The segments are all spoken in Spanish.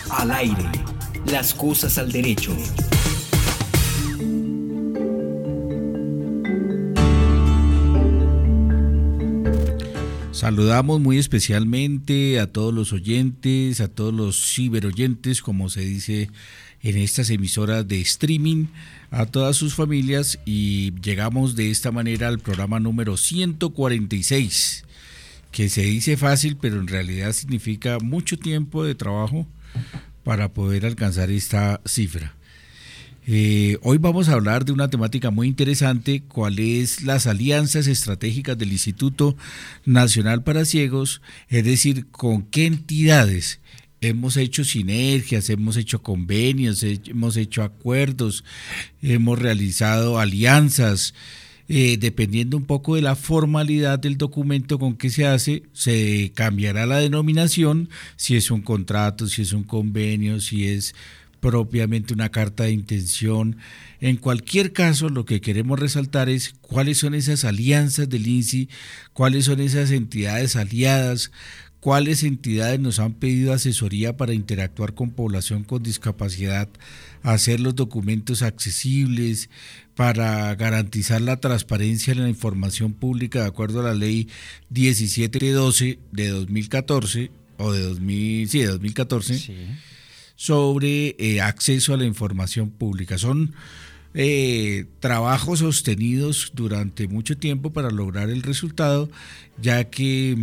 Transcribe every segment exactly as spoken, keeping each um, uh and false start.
Al aire, las cosas al derecho. Saludamos muy especialmente a todos los oyentes, a todos los ciberoyentes, como se dice en estas emisoras de streaming, a todas sus familias, y llegamos de esta manera al programa número ciento cuarenta y seis, que se dice fácil, pero en realidad significa mucho tiempo de trabajo para poder alcanzar esta cifra. Eh, hoy vamos a hablar de una temática muy interesante, cuáles las alianzas estratégicas del Instituto Nacional para Ciegos, es decir, con qué entidades hemos hecho sinergias, hemos hecho convenios, hemos hecho acuerdos, hemos realizado alianzas. Eh, dependiendo un poco de la formalidad del documento con que se hace, se cambiará la denominación, si es un contrato, si es un convenio, si es propiamente una carta de intención. En cualquier caso, lo que queremos resaltar es cuáles son esas alianzas del I N S I, cuáles son esas entidades aliadas, cuáles entidades nos han pedido asesoría para interactuar con población con discapacidad, hacer los documentos accesibles, para garantizar la transparencia en la información pública de acuerdo a la ley diecisiete doce de dos mil catorce, o de dos mil, sí, de dos mil catorce, sí. sobre eh, acceso a la información pública. Son eh, trabajos sostenidos durante mucho tiempo para lograr el resultado, ya que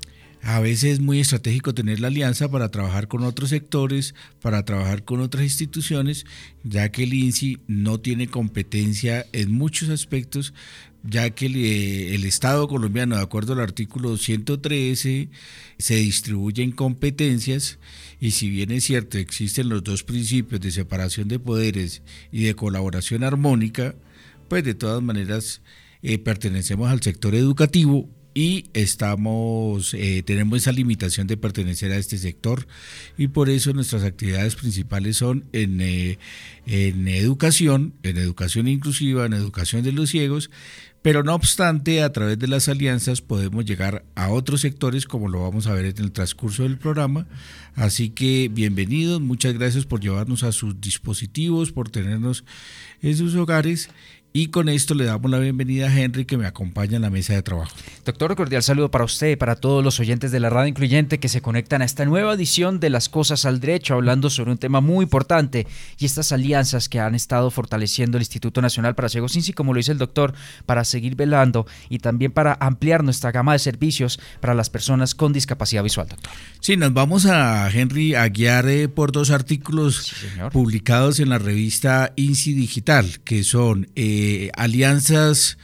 a veces es muy estratégico tener la alianza para trabajar con otros sectores, para trabajar con otras instituciones, ya que el I N S I no tiene competencia en muchos aspectos, ya que el, el Estado colombiano, de acuerdo al artículo ciento trece, se distribuye en competencias, y si bien es cierto, existen los dos principios de separación de poderes y de colaboración armónica, pues de todas maneras eh, pertenecemos al sector educativo, y estamos eh, tenemos esa limitación de pertenecer a este sector, y por eso nuestras actividades principales son en, eh, en educación, en educación inclusiva, en educación de los ciegos, pero no obstante, a través de las alianzas podemos llegar a otros sectores, como lo vamos a ver en el transcurso del programa. Así que bienvenidos, muchas gracias por llevarnos a sus dispositivos, por tenernos en sus hogares. Y con esto le damos la bienvenida a Henry, que me acompaña en la mesa de trabajo. Doctor, cordial saludo para usted y para todos los oyentes de la Radio Incluyente que se conectan a esta nueva edición de Las Cosas al Derecho, hablando sobre un tema muy importante y estas alianzas que han estado fortaleciendo el Instituto Nacional para Ciegos I N S I, como lo dice el doctor, para seguir velando y también para ampliar nuestra gama de servicios para las personas con discapacidad visual, doctor. Sí, nos vamos a, Henry, a guiar eh, por dos artículos sí, publicados en la revista I N S I Digital, que son eh, Eh, alianzas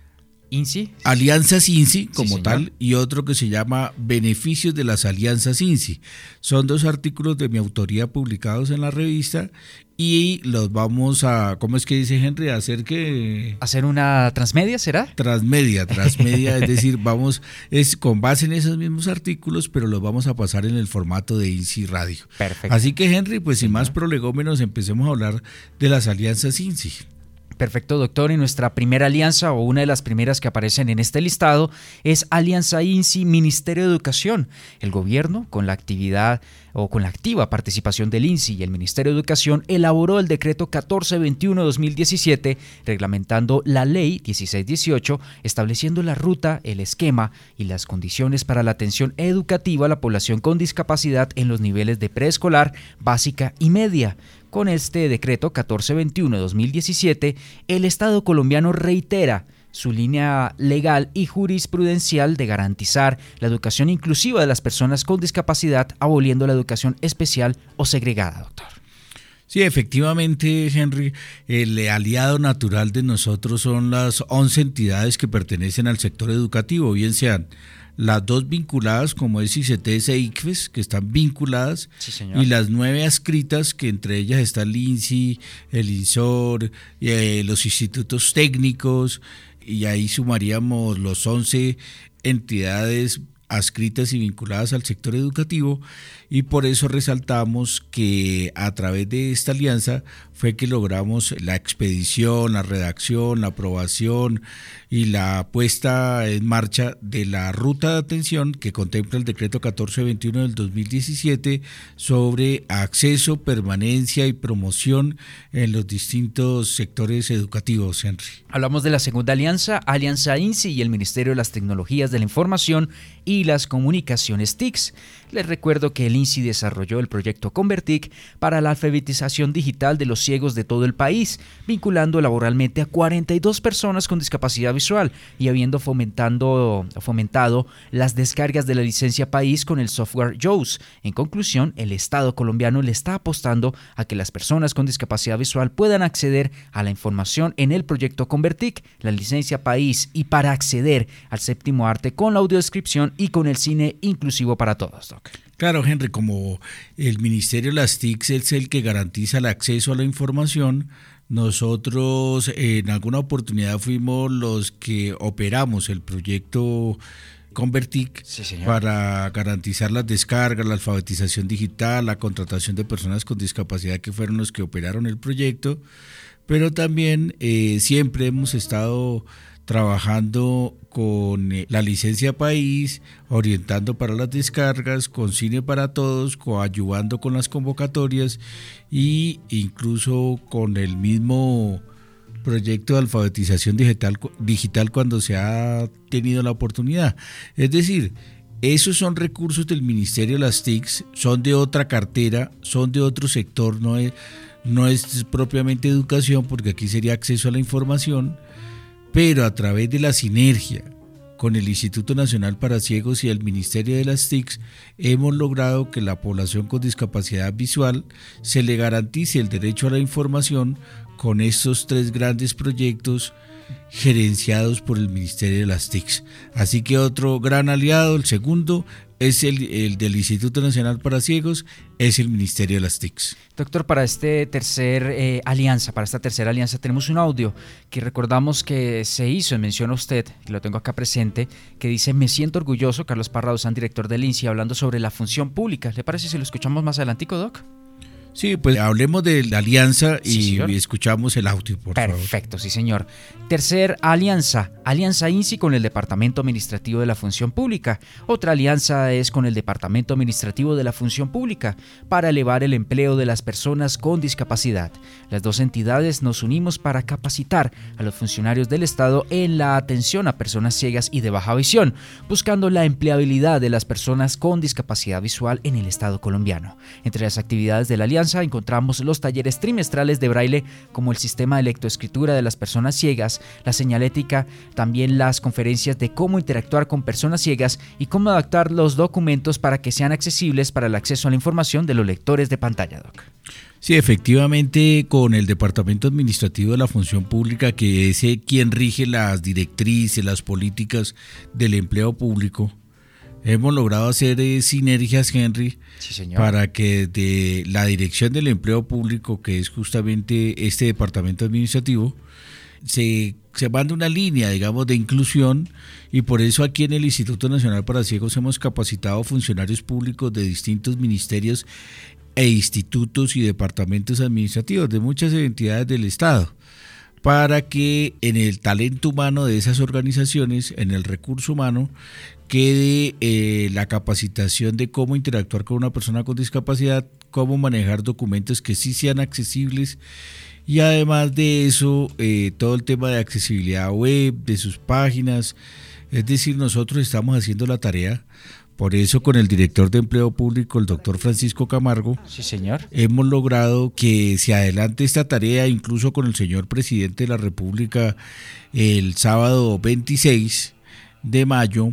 I N S I, alianzas I N S I como sí, tal, y otro que se llama Beneficios de las alianzas I N S I. Son dos artículos de mi autoría publicados en la revista, y los vamos a, ¿cómo es que dice Henry? A hacer que hacer una transmedia, ¿será? Transmedia, transmedia, es decir, vamos, es con base en esos mismos artículos, pero los vamos a pasar en el formato de I N S I Radio. Perfecto. Así que Henry, pues sin más prolegómenos, empecemos a hablar de las alianzas I N S I. Perfecto, doctor. Y nuestra primera alianza, o una de las primeras que aparecen en este listado, es Alianza I N S I Ministerio de Educación. El gobierno, con la actividad o con la activa participación del I N S I y el Ministerio de Educación, elaboró el decreto catorce veintiuno de dos mil diecisiete, reglamentando la ley dieciséis dieciocho, estableciendo la ruta, el esquema y las condiciones para la atención educativa a la población con discapacidad en los niveles de preescolar, básica y media. Con este decreto catorce veintiuno de dos mil diecisiete, el Estado colombiano reitera su línea legal y jurisprudencial de garantizar la educación inclusiva de las personas con discapacidad, aboliendo la educación especial o segregada, doctor. Sí, efectivamente, Henry, el aliado natural de nosotros son las once entidades que pertenecen al sector educativo, bien sean las dos vinculadas, como es I C T S e I C F E S, que están vinculadas, sí, señor, y las nueve adscritas, que entre ellas está el I N S I, el INSOR, eh, los institutos técnicos, y ahí sumaríamos los once entidades adscritas y vinculadas al sector educativo, y por eso resaltamos que a través de esta alianza fue que logramos la expedición, la redacción, la aprobación y la puesta en marcha de la ruta de atención que contempla el decreto catorce veintiuno del dos mil diecisiete sobre acceso, permanencia y promoción en los distintos sectores educativos, Henry. Hablamos de la segunda alianza, Alianza INSI y el Ministerio de las Tecnologías de la Información y las Comunicaciones T I C S. Les recuerdo que el INSI desarrolló el proyecto Convertic para la alfabetización digital de los ciegos de todo el país, vinculando laboralmente a cuarenta y dos personas con discapacidad visual y habiendo fomentando, fomentado las descargas de la licencia país con el software JAWS. En conclusión, el Estado colombiano le está apostando a que las personas con discapacidad visual puedan acceder a la información en el proyecto Convertic, la licencia país, y para acceder al séptimo arte con la audiodescripción y con el cine inclusivo para todos, Doc. Claro, Henry, como el Ministerio de las T I C S es el que garantiza el acceso a la información, nosotros en alguna oportunidad fuimos los que operamos el proyecto Convertic, sí, para garantizar las descargas, la alfabetización digital, la contratación de personas con discapacidad, que fueron los que operaron el proyecto, pero también eh, siempre hemos estado trabajando con la licencia país, orientando para las descargas, con Cine para Todos, coadyuvando con las convocatorias e incluso con el mismo proyecto de alfabetización digital, digital cuando se ha tenido la oportunidad. Es decir, esos son recursos del Ministerio de las T I C S, son de otra cartera, son de otro sector, no es, no es propiamente educación, porque aquí sería acceso a la información, pero a través de la sinergia con el Instituto Nacional para Ciegos y el Ministerio de las T I C S, hemos logrado que la población con discapacidad visual se le garantice el derecho a la información con estos tres grandes proyectos gerenciados por el Ministerio de las T I C S. Así que otro gran aliado, el segundo, es el, el del Instituto Nacional para Ciegos, es el Ministerio de las T I C S. Doctor, para este tercer eh, alianza, para esta tercera alianza tenemos un audio que recordamos que se hizo, menciona usted, que lo tengo acá presente, que dice: me siento orgulloso, Carlos Parra Duzán, director del INSI, hablando sobre la función pública. ¿Le parece si lo escuchamos más adelantico, Doc? Sí, pues hablemos de la alianza y sí, escuchamos el audio, por Perfecto, favor. Perfecto, sí señor. Tercer alianza, Alianza INSI con el Departamento Administrativo de la Función Pública. Otra alianza es con el Departamento Administrativo de la Función Pública para elevar el empleo de las personas con discapacidad. Las dos entidades nos unimos para capacitar a los funcionarios del Estado en la atención a personas ciegas y de baja visión, buscando la empleabilidad de las personas con discapacidad visual en el Estado colombiano. Entre las actividades de la alianza encontramos los talleres trimestrales de braille, como el sistema de lectoescritura de las personas ciegas, la señalética, también las conferencias de cómo interactuar con personas ciegas y cómo adaptar los documentos para que sean accesibles para el acceso a la información de los lectores de pantalla, Doc. Sí, efectivamente, con el Departamento Administrativo de la Función Pública, que es quien rige las directrices, las políticas del empleo público, hemos logrado hacer eh, sinergias, Henry, sí, señor, para que de la Dirección del Empleo Público, que es justamente este departamento administrativo, se, se manda una línea, digamos, de inclusión, y por eso aquí en el Instituto Nacional para Ciegos hemos capacitado funcionarios públicos de distintos ministerios e institutos y departamentos administrativos de muchas entidades del Estado, para que en el talento humano de esas organizaciones, en el recurso humano, quede eh, la capacitación de cómo interactuar con una persona con discapacidad, cómo manejar documentos que sí sean accesibles, y además de eso, eh, todo el tema de accesibilidad web, de sus páginas. Es decir, nosotros estamos haciendo la tarea. Por eso, con el director de Empleo Público, el doctor Francisco Camargo, sí, señor, hemos logrado que se adelante esta tarea, incluso con el señor presidente de la República. El sábado veintiséis de mayo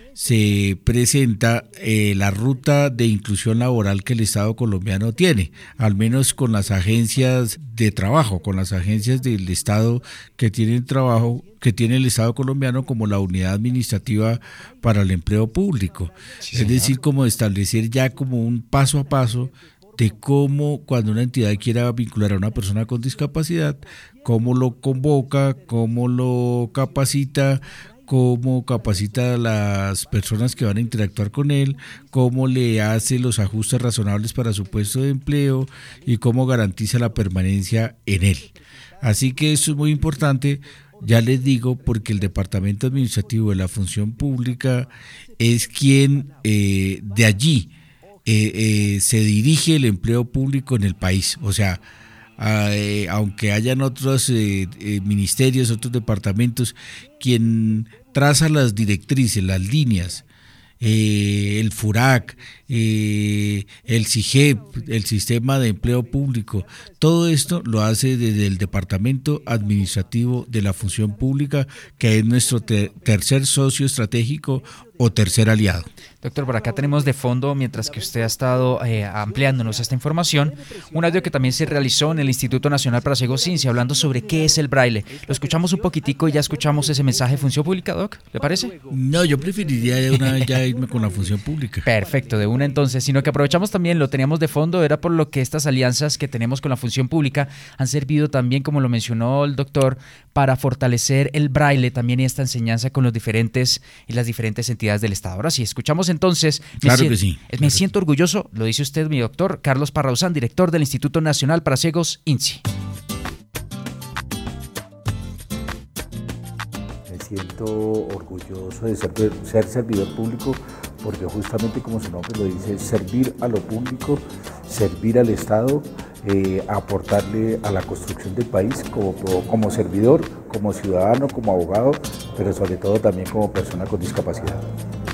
se presenta eh, la ruta de inclusión laboral que el Estado colombiano tiene, al menos con las agencias de trabajo, con las agencias del Estado que tienen trabajo, que tiene el Estado colombiano, como la Unidad Administrativa para el Empleo Público. Sí, es decir, como establecer ya como un paso a paso de cómo, cuando una entidad quiera vincular a una persona con discapacidad, cómo lo convoca, cómo lo capacita, cómo capacita a las personas que van a interactuar con él, cómo le hace los ajustes razonables para su puesto de empleo y cómo garantiza la permanencia en él. Así que eso es muy importante, ya les digo, porque el Departamento Administrativo de la Función Pública es quien eh, de allí eh, eh, se dirige el empleo público en el país. O sea, eh, aunque hayan otros eh, eh, ministerios, otros departamentos, quien traza las directrices, las líneas, eh, el FURAC, eh, el SIGEP, el Sistema de Empleo Público, todo esto lo hace desde el Departamento Administrativo de la Función Pública, que es nuestro ter- tercer socio estratégico o tercer aliado. Doctor, por acá tenemos de fondo, mientras que usted ha estado eh, ampliándonos esta información, un audio que también se realizó en el Instituto Nacional para Ciegos INSI, hablando sobre qué es el braille. Lo escuchamos un poquitico y ya escuchamos ese mensaje de Función Pública, Doc, ¿le parece? No, yo preferiría de una vez ya irme con la Función Pública. Perfecto, de una entonces, sino que aprovechamos también, lo teníamos de fondo, era por lo que estas alianzas que tenemos con la Función Pública han servido también, como lo mencionó el doctor, para fortalecer el braille también y esta enseñanza con los diferentes y las diferentes entidades del Estado. Ahora sí, escuchamos entonces. Claro me que sí. Me Claro. siento orgulloso, lo dice usted, mi doctor, Carlos Parrauzán, director del Instituto Nacional para Ciegos INSI. Me siento orgulloso de ser, ser servidor público porque justamente como su nombre lo dice, servir a lo público, servir al Estado, eh, aportarle a la construcción del país como, como servidor, como ciudadano, como abogado, pero sobre todo también como persona con discapacidad.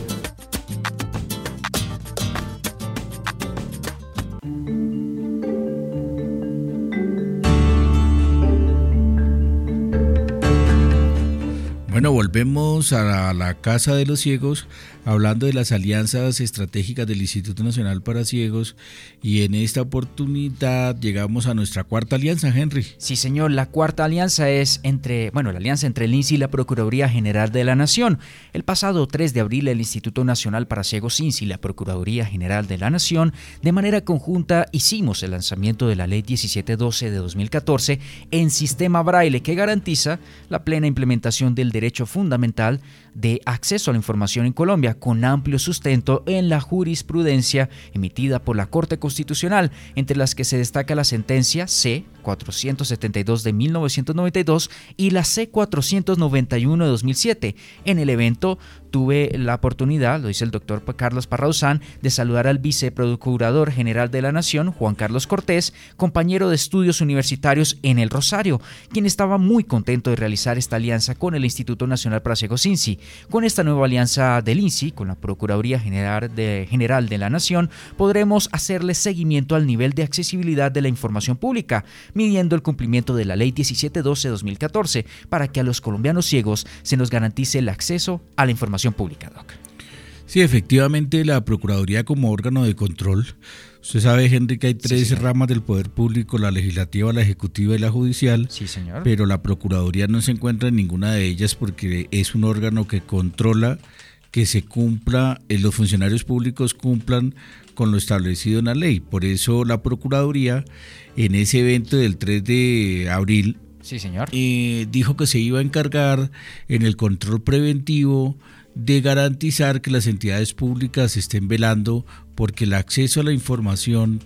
Bueno, volvemos a la, a la Casa de los Ciegos, hablando de las alianzas estratégicas del Instituto Nacional para Ciegos, y en esta oportunidad llegamos a nuestra cuarta alianza, Henry. Sí, señor, la cuarta alianza es entre, bueno, la alianza entre el INSI y la Procuraduría General de la Nación. El pasado tres de abril, el Instituto Nacional para Ciegos INSI y la Procuraduría General de la Nación, de manera conjunta, hicimos el lanzamiento de la Ley diecisiete doce de dos mil catorce en sistema braille, que garantiza la plena implementación del derecho fundamental de acceso a la información en Colombia, con amplio sustento en la jurisprudencia emitida por la Corte Constitucional, entre las que se destaca la sentencia C cuatrocientos setenta y dos de mil novecientos noventa y dos y la C cuatrocientos noventa y uno de dos mil siete. En el evento tuve la oportunidad, lo dice el doctor Carlos Parrauzán, de saludar al viceprocurador general de la Nación, Juan Carlos Cortés, compañero de estudios universitarios en el Rosario, quien estaba muy contento de realizar esta alianza con el Instituto Nacional para Ciegos INSI. Con esta nueva alianza del INSI con la Procuraduría General de, General de la Nación, podremos hacerle seguimiento al nivel de accesibilidad de la información pública, midiendo el cumplimiento de la Ley diecisiete doce de dos mil catorce, para que a los colombianos ciegos se nos garantice el acceso a la información pública, Doc. Sí, efectivamente, la Procuraduría como órgano de control. Usted sabe, Henry, que hay tres sí, ramas del poder público: la legislativa, la ejecutiva y la judicial. Sí, señor. Pero la Procuraduría no se encuentra en ninguna de ellas porque es un órgano que controla que se cumpla, eh, los funcionarios públicos cumplan con lo establecido en la ley. Por eso la Procuraduría, en ese evento del tres de abril, sí, señor. Eh, dijo que se iba a encargar en el control preventivo de garantizar que las entidades públicas estén velando porque el acceso a la información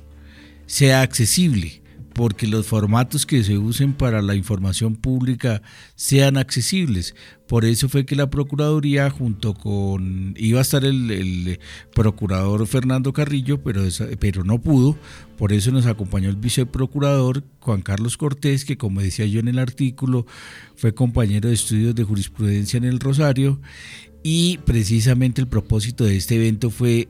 sea accesible, porque los formatos que se usen para la información pública sean accesibles. Por eso fue que la Procuraduría, junto con, iba a estar el, el procurador Fernando Carrillo, pero, pero no pudo, por eso nos acompañó el viceprocurador Juan Carlos Cortés, que como decía yo en el artículo, fue compañero de estudios de jurisprudencia en el Rosario, y precisamente el propósito de este evento fue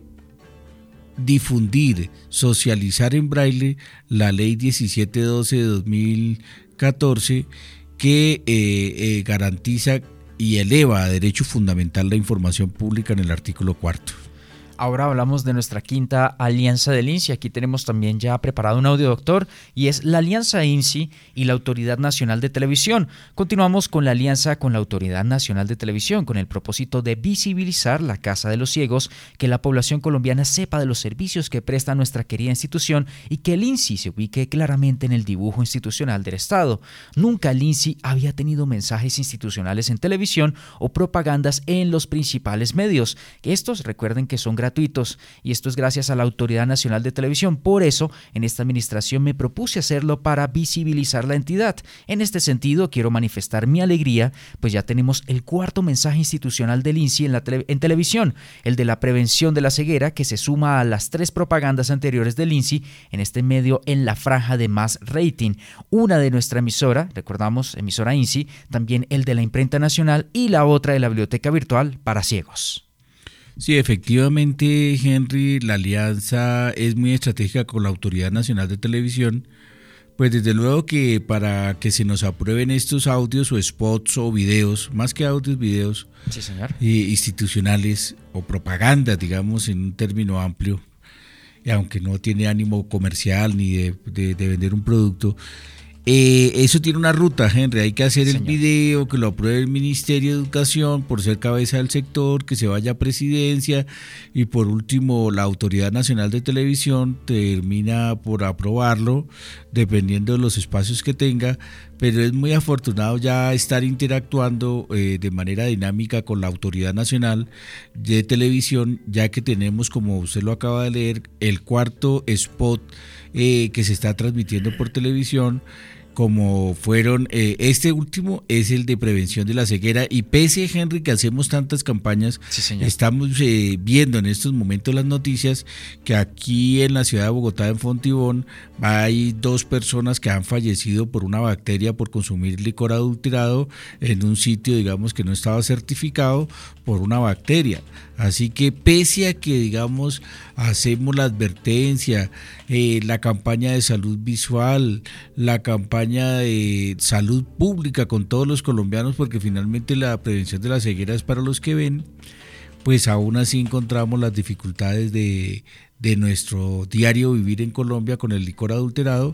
difundir, socializar en braille la ley diecisiete doce de dos mil catorce, que eh, eh, garantiza y eleva a derecho fundamental la información pública en el artículo cuarto. Ahora hablamos de nuestra quinta alianza del INSI. Aquí tenemos también ya preparado un audio, doctor, y es la alianza INSI y la Autoridad Nacional de Televisión. Continuamos con la alianza con la Autoridad Nacional de Televisión con el propósito de visibilizar la Casa de los Ciegos, que la población colombiana sepa de los servicios que presta nuestra querida institución y que el INSI se ubique claramente en el dibujo institucional del Estado. Nunca el INSI había tenido mensajes institucionales en televisión o propagandas en los principales medios. Estos, recuerden que son gratuitos y esto es gracias a la Autoridad Nacional de Televisión. Por eso, en esta administración me propuse hacerlo para visibilizar la entidad. En este sentido, quiero manifestar mi alegría, pues ya tenemos el cuarto mensaje institucional del INSI en, la tele- en televisión, el de la prevención de la ceguera, que se suma a las tres propagandas anteriores del INSI en este medio en la franja de más rating. Una de nuestra emisora, recordamos, emisora INSI, también el de la Imprenta Nacional y la otra de la Biblioteca Virtual para Ciegos. Sí, efectivamente, Henry, la alianza es muy estratégica con la Autoridad Nacional de Televisión, pues desde luego que para que se nos aprueben estos audios o spots o videos, más que audios, videos, sí, señor. eh, institucionales o propaganda, digamos, en un término amplio, aunque no tiene ánimo comercial ni de, de, de vender un producto. Eh, eso tiene una ruta, Henry, hay que hacer el Señor. video, que lo apruebe el Ministerio de Educación por ser cabeza del sector, que se vaya a presidencia y por último la Autoridad Nacional de Televisión termina por aprobarlo dependiendo de los espacios que tenga, pero es muy afortunado ya estar interactuando eh, de manera dinámica con la Autoridad Nacional de Televisión, ya que tenemos, como usted lo acaba de leer, el cuarto spot eh, que se está transmitiendo por televisión, como fueron, eh, este último es el de prevención de la ceguera, y pese, Henry, que hacemos tantas campañas, Sí, señor. estamos eh, viendo en estos momentos las noticias que aquí en la ciudad de Bogotá, en Fontibón, hay dos personas que han fallecido por una bacteria por consumir licor adulterado en un sitio, digamos, que no estaba certificado por una bacteria. Así que pese a que, digamos, hacemos la advertencia, eh, la campaña de salud visual, la campaña de salud pública con todos los colombianos, porque finalmente la prevención de la ceguera es para los que ven, pues aún así encontramos las dificultades de, de nuestro diario vivir en Colombia con el licor adulterado,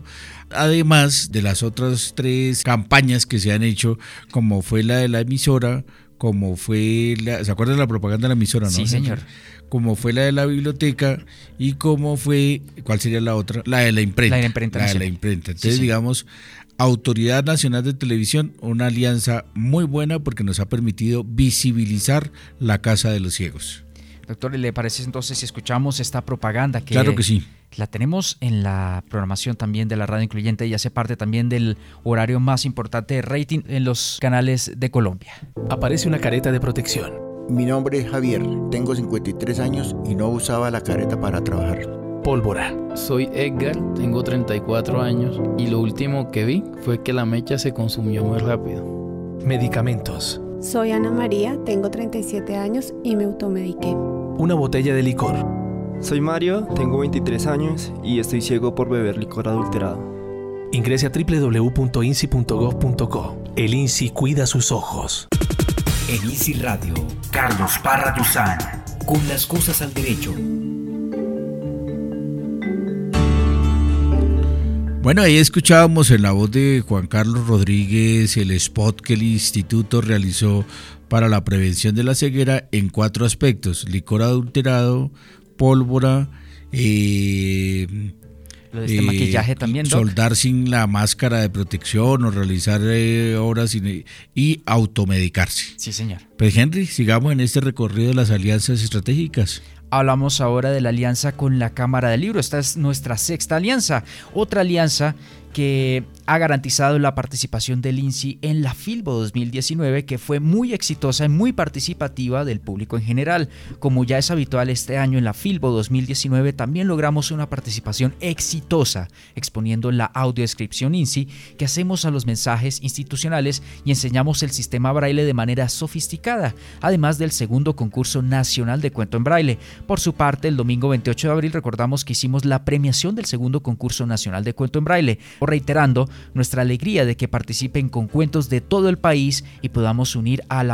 además de las otras tres campañas que se han hecho, como fue la de la emisora, como fue la, ¿se acuerdan de la propaganda de la emisora, no? Sí, señor. Como fue la de la biblioteca y como fue, ¿cuál sería la otra? La de la imprenta. La de la imprenta La de la nacional. imprenta. Entonces, Sí, sí. digamos, Autoridad Nacional de Televisión, una alianza muy buena porque nos ha permitido visibilizar la Casa de los Ciegos. Doctor, ¿le parece entonces si escuchamos esta propaganda que, Claro que sí. la tenemos en la programación también de la radio incluyente y hace parte también del horario más importante de rating en los canales de Colombia? Aparece una careta de protección. Mi nombre es Javier, tengo cincuenta y tres años y no usaba la careta para trabajar. Pólvora. Soy Edgar, tengo treinta y cuatro años y lo último que vi fue que la mecha se consumió muy rápido. Medicamentos. Soy Ana María, tengo treinta y siete años y me automediqué. Una botella de licor. Soy Mario, tengo veintitrés años y estoy ciego por beber licor adulterado. Ingrese a doble u doble u doble u punto insi punto gov punto co. El INSI cuida sus ojos. En INSI Radio, Carlos Parra Duzán, con las cosas al derecho. Bueno, ahí escuchábamos en la voz de Juan Carlos Rodríguez el spot que el instituto realizó para la prevención de la ceguera en cuatro aspectos: licor adulterado, pólvora, eh, Lo de este eh, maquillaje también, Doc. Soldar sin la máscara de protección o realizar eh, obras sin, y automedicarse. Sí, señor. Pues Henry, sigamos en este recorrido de las alianzas estratégicas. Hablamos ahora de la alianza con la Cámara del Libro. Esta es nuestra sexta alianza. Otra alianza que ha garantizado la participación del INSI en la Filbo dos mil diecinueve, que fue muy exitosa y muy participativa del público en general. Como ya es habitual este año en la Filbo dos mil diecinueve, también logramos una participación exitosa, exponiendo la audiodescripción INSI que hacemos a los mensajes institucionales y enseñamos el sistema braille de manera sofisticada, además del segundo concurso nacional de cuento en braille. Por su parte, el domingo veintiocho de abril recordamos que hicimos la premiación del segundo concurso nacional de cuento en braille, reiterando nuestra alegría de que participen con cuentos de todo el país y podamos unir a la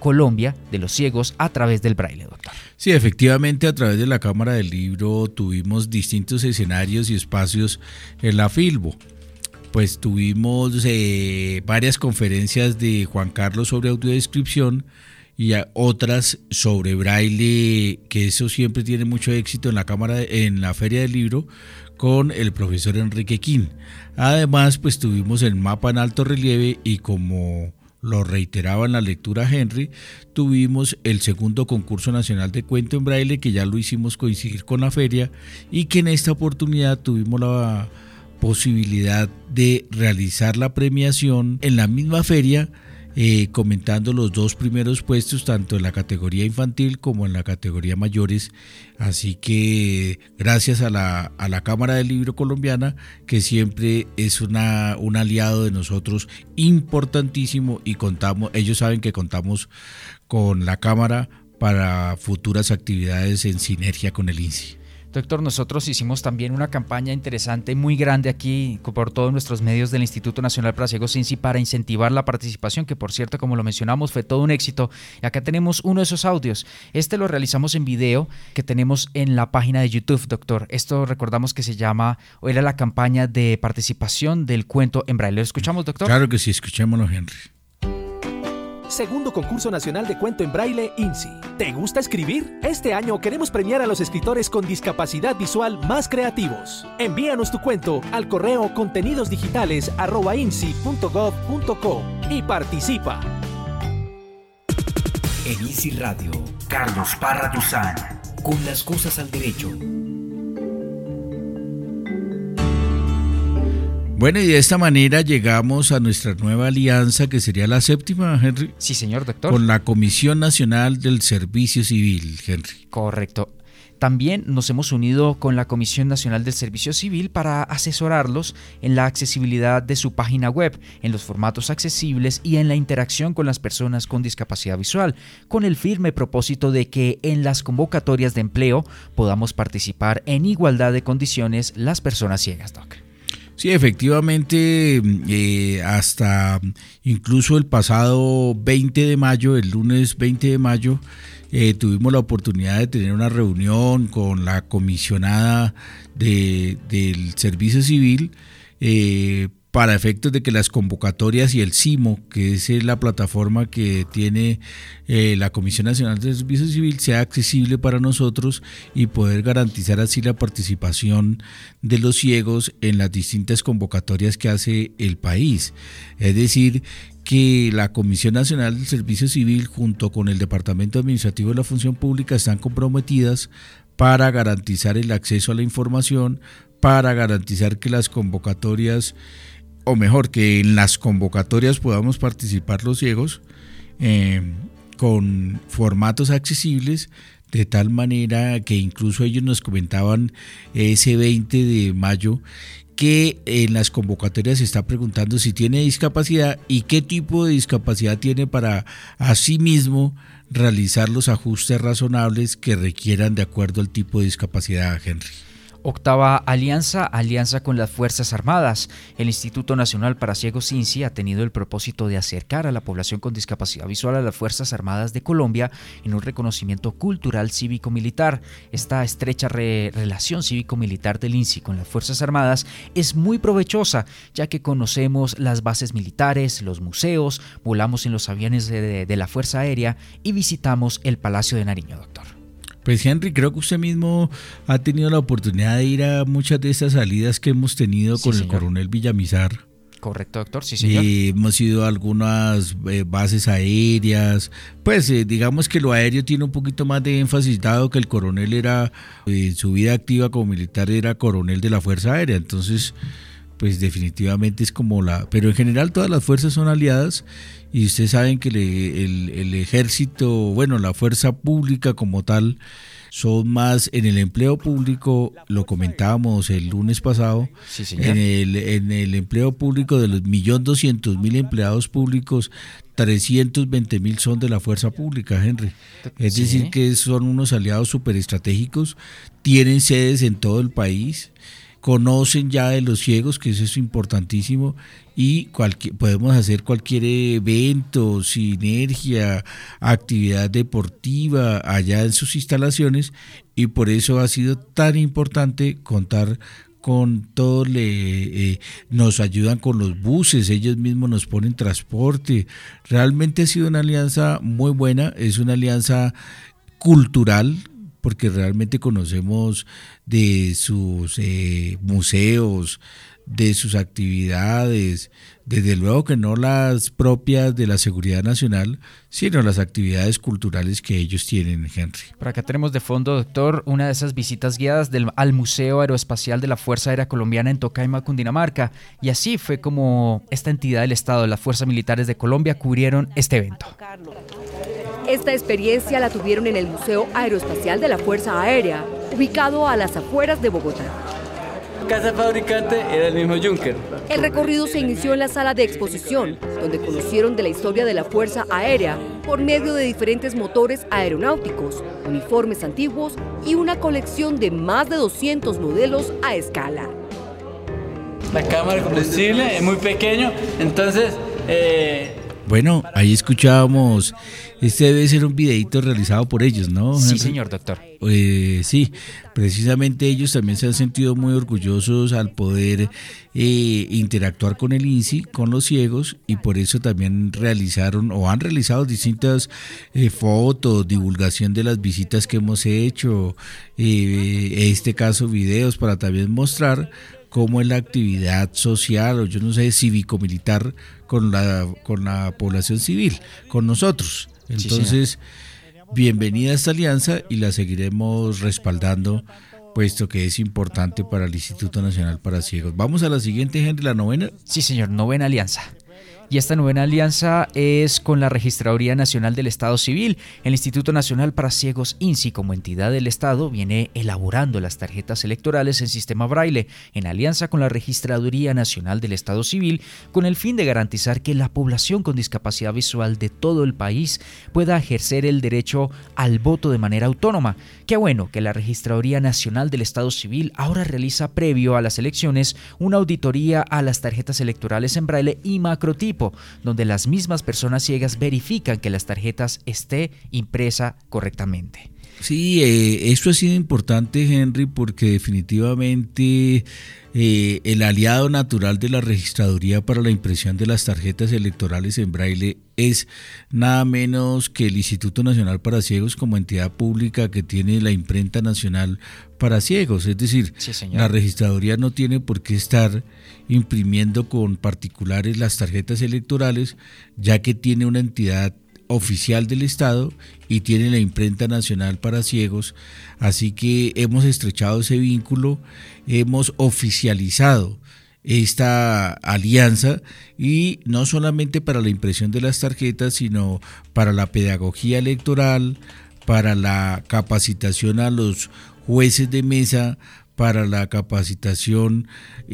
Colombia de los ciegos a través del braille, doctor. Sí, efectivamente, a través de la Cámara del Libro tuvimos distintos escenarios y espacios en la Filbo. Pues tuvimos eh, varias conferencias de Juan Carlos sobre audiodescripción y otras sobre braille, que eso siempre tiene mucho éxito en la Cámara, en la Feria del Libro, con el profesor Enrique Quín. Además, pues tuvimos el mapa en alto relieve y, como lo reiteraba en la lectura Henry, tuvimos el segundo concurso nacional de cuento en braille, que ya lo hicimos coincidir con la feria, y que en esta oportunidad tuvimos la posibilidad de realizar la premiación en la misma feria, eh, comentando los dos primeros puestos, tanto en la categoría infantil como en la categoría mayores. Así que gracias a la, a la Cámara del Libro colombiana, que siempre es una, un aliado de nosotros importantísimo, y contamos, ellos saben que contamos con la Cámara para futuras actividades en sinergia con el INSI. Doctor, nosotros hicimos también una campaña interesante, muy grande aquí por todos nuestros medios del Instituto Nacional para Ciegos INSI para incentivar la participación, que por cierto, como lo mencionamos, fue todo un éxito. Y acá tenemos uno de esos audios. Este lo realizamos en video que tenemos en la página de YouTube, doctor. Esto recordamos que se llama, o era la campaña de participación del cuento en braille. ¿Lo escuchamos, doctor? Claro que sí, escuchémoslo, Henry. Segundo concurso nacional de cuento en braille INSI. ¿Te gusta escribir? Este año queremos premiar a los escritores con discapacidad visual más creativos. Envíanos tu cuento al correo contenidosdigitales arroba insi punto gov punto co y participa. En INSI Radio, Carlos Parra Duzán, con las cosas al derecho. Bueno, y de esta manera llegamos a nuestra nueva alianza, que sería la séptima, Henry. Sí, señor, doctor. Con la Comisión Nacional del Servicio Civil, Henry. Correcto. También nos hemos unido con la Comisión Nacional del Servicio Civil para asesorarlos en la accesibilidad de su página web, en los formatos accesibles y en la interacción con las personas con discapacidad visual, con el firme propósito de que en las convocatorias de empleo podamos participar en igualdad de condiciones las personas ciegas, doc. Sí, efectivamente, eh, hasta incluso el pasado veinte de mayo, el lunes veinte de mayo, eh, tuvimos la oportunidad de tener una reunión con la comisionada de, del Servicio Civil, eh, para efectos de que las convocatorias y el CIMO, que es la plataforma que tiene eh, la Comisión Nacional del Servicio Civil, sea accesible para nosotros y poder garantizar así la participación de los ciegos en las distintas convocatorias que hace el país. Es decir, que la Comisión Nacional del Servicio Civil junto con el Departamento Administrativo de la Función Pública están comprometidas para garantizar el acceso a la información, para garantizar que las convocatorias, o mejor, que en las convocatorias podamos participar los ciegos eh, con formatos accesibles, de tal manera que incluso ellos nos comentaban ese veinte de mayo que en las convocatorias se está preguntando si tiene discapacidad y qué tipo de discapacidad tiene para asimismo realizar los ajustes razonables que requieran de acuerdo al tipo de discapacidad, Henry. Octava alianza, alianza con las Fuerzas Armadas. El Instituto Nacional para Ciegos INSI ha tenido el propósito de acercar a la población con discapacidad visual a las Fuerzas Armadas de Colombia en un reconocimiento cultural cívico-militar. Esta estrecha re- relación cívico-militar del INSI con las Fuerzas Armadas es muy provechosa, ya que conocemos las bases militares, los museos, volamos en los aviones de, de, de la Fuerza Aérea y visitamos el Palacio de Nariño, doctor. Pues Henry, creo que usted mismo ha tenido la oportunidad de ir a muchas de estas salidas que hemos tenido sí, con señor. el coronel Villamizar. Correcto, doctor, sí señor. Eh, hemos ido a algunas eh, bases aéreas, pues eh, digamos que lo aéreo tiene un poquito más de énfasis, dado que el coronel era, en eh, su vida activa como militar era coronel de la Fuerza Aérea, entonces pues definitivamente es como la... Pero en general todas las fuerzas son aliadas y ustedes saben que le, el, el ejército, bueno, la fuerza pública como tal, son más en el empleo público, lo comentábamos el lunes pasado, sí, señor. en el en el empleo público de los un millón doscientos mil empleados públicos, trescientos veinte mil son de la fuerza pública, Henry. Es sí. decir, que son unos aliados súper estratégicos, tienen sedes en todo el país, conocen ya de los ciegos, que eso es importantísimo, y cualquier, podemos hacer cualquier evento, sinergia, actividad deportiva allá en sus instalaciones, y por eso ha sido tan importante contar con todo, le, eh, nos ayudan con los buses, ellos mismos nos ponen transporte. Realmente ha sido una alianza muy buena, es una alianza cultural, porque realmente conocemos de sus eh, museos, de sus actividades, desde luego que no las propias de la seguridad nacional, sino las actividades culturales que ellos tienen, Henry. Por acá tenemos de fondo, doctor, una de esas visitas guiadas del, al Museo Aeroespacial de la Fuerza Aérea Colombiana en Tocaima, Cundinamarca, y así fue como esta entidad del Estado, las Fuerzas Militares de Colombia, cubrieron este evento. Esta experiencia la tuvieron en el Museo Aeroespacial de la Fuerza Aérea, ubicado a las afueras de Bogotá. Casa fabricante era el mismo Junker. El recorrido se inició en la sala de exposición, donde conocieron de la historia de la Fuerza Aérea por medio de diferentes motores aeronáuticos, uniformes antiguos y una colección de más de doscientos modelos a escala. La cámara de combustible es muy pequeño, entonces... Eh, Bueno, ahí escuchábamos, este debe ser un videíto realizado por ellos, ¿no? Sí, Henry? señor doctor. Eh, sí, precisamente ellos también se han sentido muy orgullosos al poder eh, interactuar con el INSI, con los ciegos, y por eso también realizaron o han realizado distintas eh, fotos, divulgación de las visitas que hemos hecho, eh, en este caso videos para también mostrar cómo es la actividad social, o yo no sé, cívico-militar con la, con la población civil, con nosotros. Entonces, sí, bienvenida a esta alianza y la seguiremos respaldando, puesto que es importante para el Instituto Nacional para Ciegos. Vamos a la siguiente, Henry, la novena. Sí, señor, novena alianza. Y esta novena alianza es con la Registraduría Nacional del Estado Civil. El Instituto Nacional para Ciegos INSI, como entidad del Estado, viene elaborando las tarjetas electorales en sistema braille, en alianza con la Registraduría Nacional del Estado Civil, con el fin de garantizar que la población con discapacidad visual de todo el país pueda ejercer el derecho al voto de manera autónoma. Qué bueno que la Registraduría Nacional del Estado Civil ahora realiza, previo a las elecciones, una auditoría a las tarjetas electorales en braille y macrotipo, donde las mismas personas ciegas verifican que las tarjetas esté impresa correctamente. Sí, eh, esto ha sido importante, Henry, porque definitivamente eh, el aliado natural de la Registraduría para la impresión de las tarjetas electorales en braille es nada menos que el Instituto Nacional para Ciegos, como entidad pública que tiene la imprenta nacional para ciegos. Es decir, sí, la Registraduría no tiene por qué estar imprimiendo con particulares las tarjetas electorales, ya que tiene una entidad oficial del Estado y tiene la imprenta nacional para ciegos, así que hemos estrechado ese vínculo, hemos oficializado esta alianza, y no solamente para la impresión de las tarjetas, sino para la pedagogía electoral, para la capacitación a los jueces de mesa, para la capacitación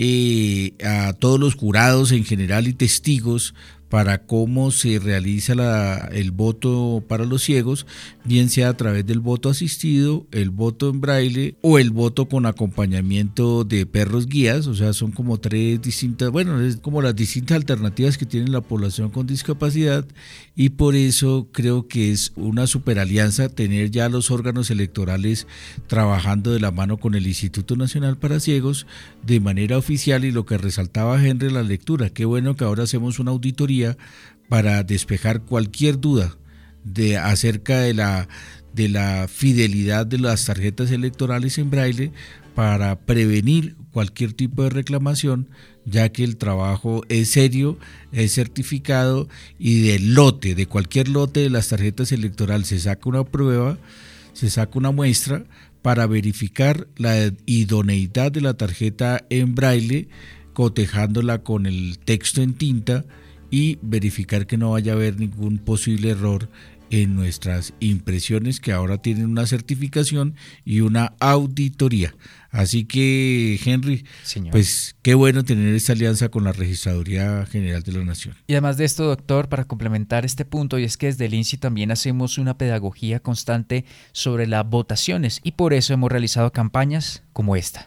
eh, a todos los jurados en general y testigos, para cómo se realiza la, el voto para los ciegos, bien sea a través del voto asistido, el voto en braille o el voto con acompañamiento de perros guías. O sea, son como tres distintas, bueno, es como las distintas alternativas que tiene la población con discapacidad, y por eso creo que es una superalianza tener ya los órganos electorales trabajando de la mano con el Instituto Nacional para Ciegos de manera oficial. Y lo que resaltaba Henry en la lectura, qué bueno que ahora hacemos una auditoría para despejar cualquier duda de acerca de la, de la fidelidad de las tarjetas electorales en braille, para prevenir cualquier tipo de reclamación, ya que el trabajo es serio, es certificado, y del lote, de cualquier lote de las tarjetas electorales se saca una prueba, se saca una muestra para verificar la idoneidad de la tarjeta en braille, cotejándola con el texto en tinta, y verificar que no vaya a haber ningún posible error en nuestras impresiones, que ahora tienen una certificación y una auditoría. Así que, Henry, señor, pues qué bueno tener esta alianza con la Registraduría General de la Nación. Y además de esto, doctor, para complementar este punto, y es que desde el INSI también hacemos una pedagogía constante sobre las votaciones, y por eso hemos realizado campañas como esta.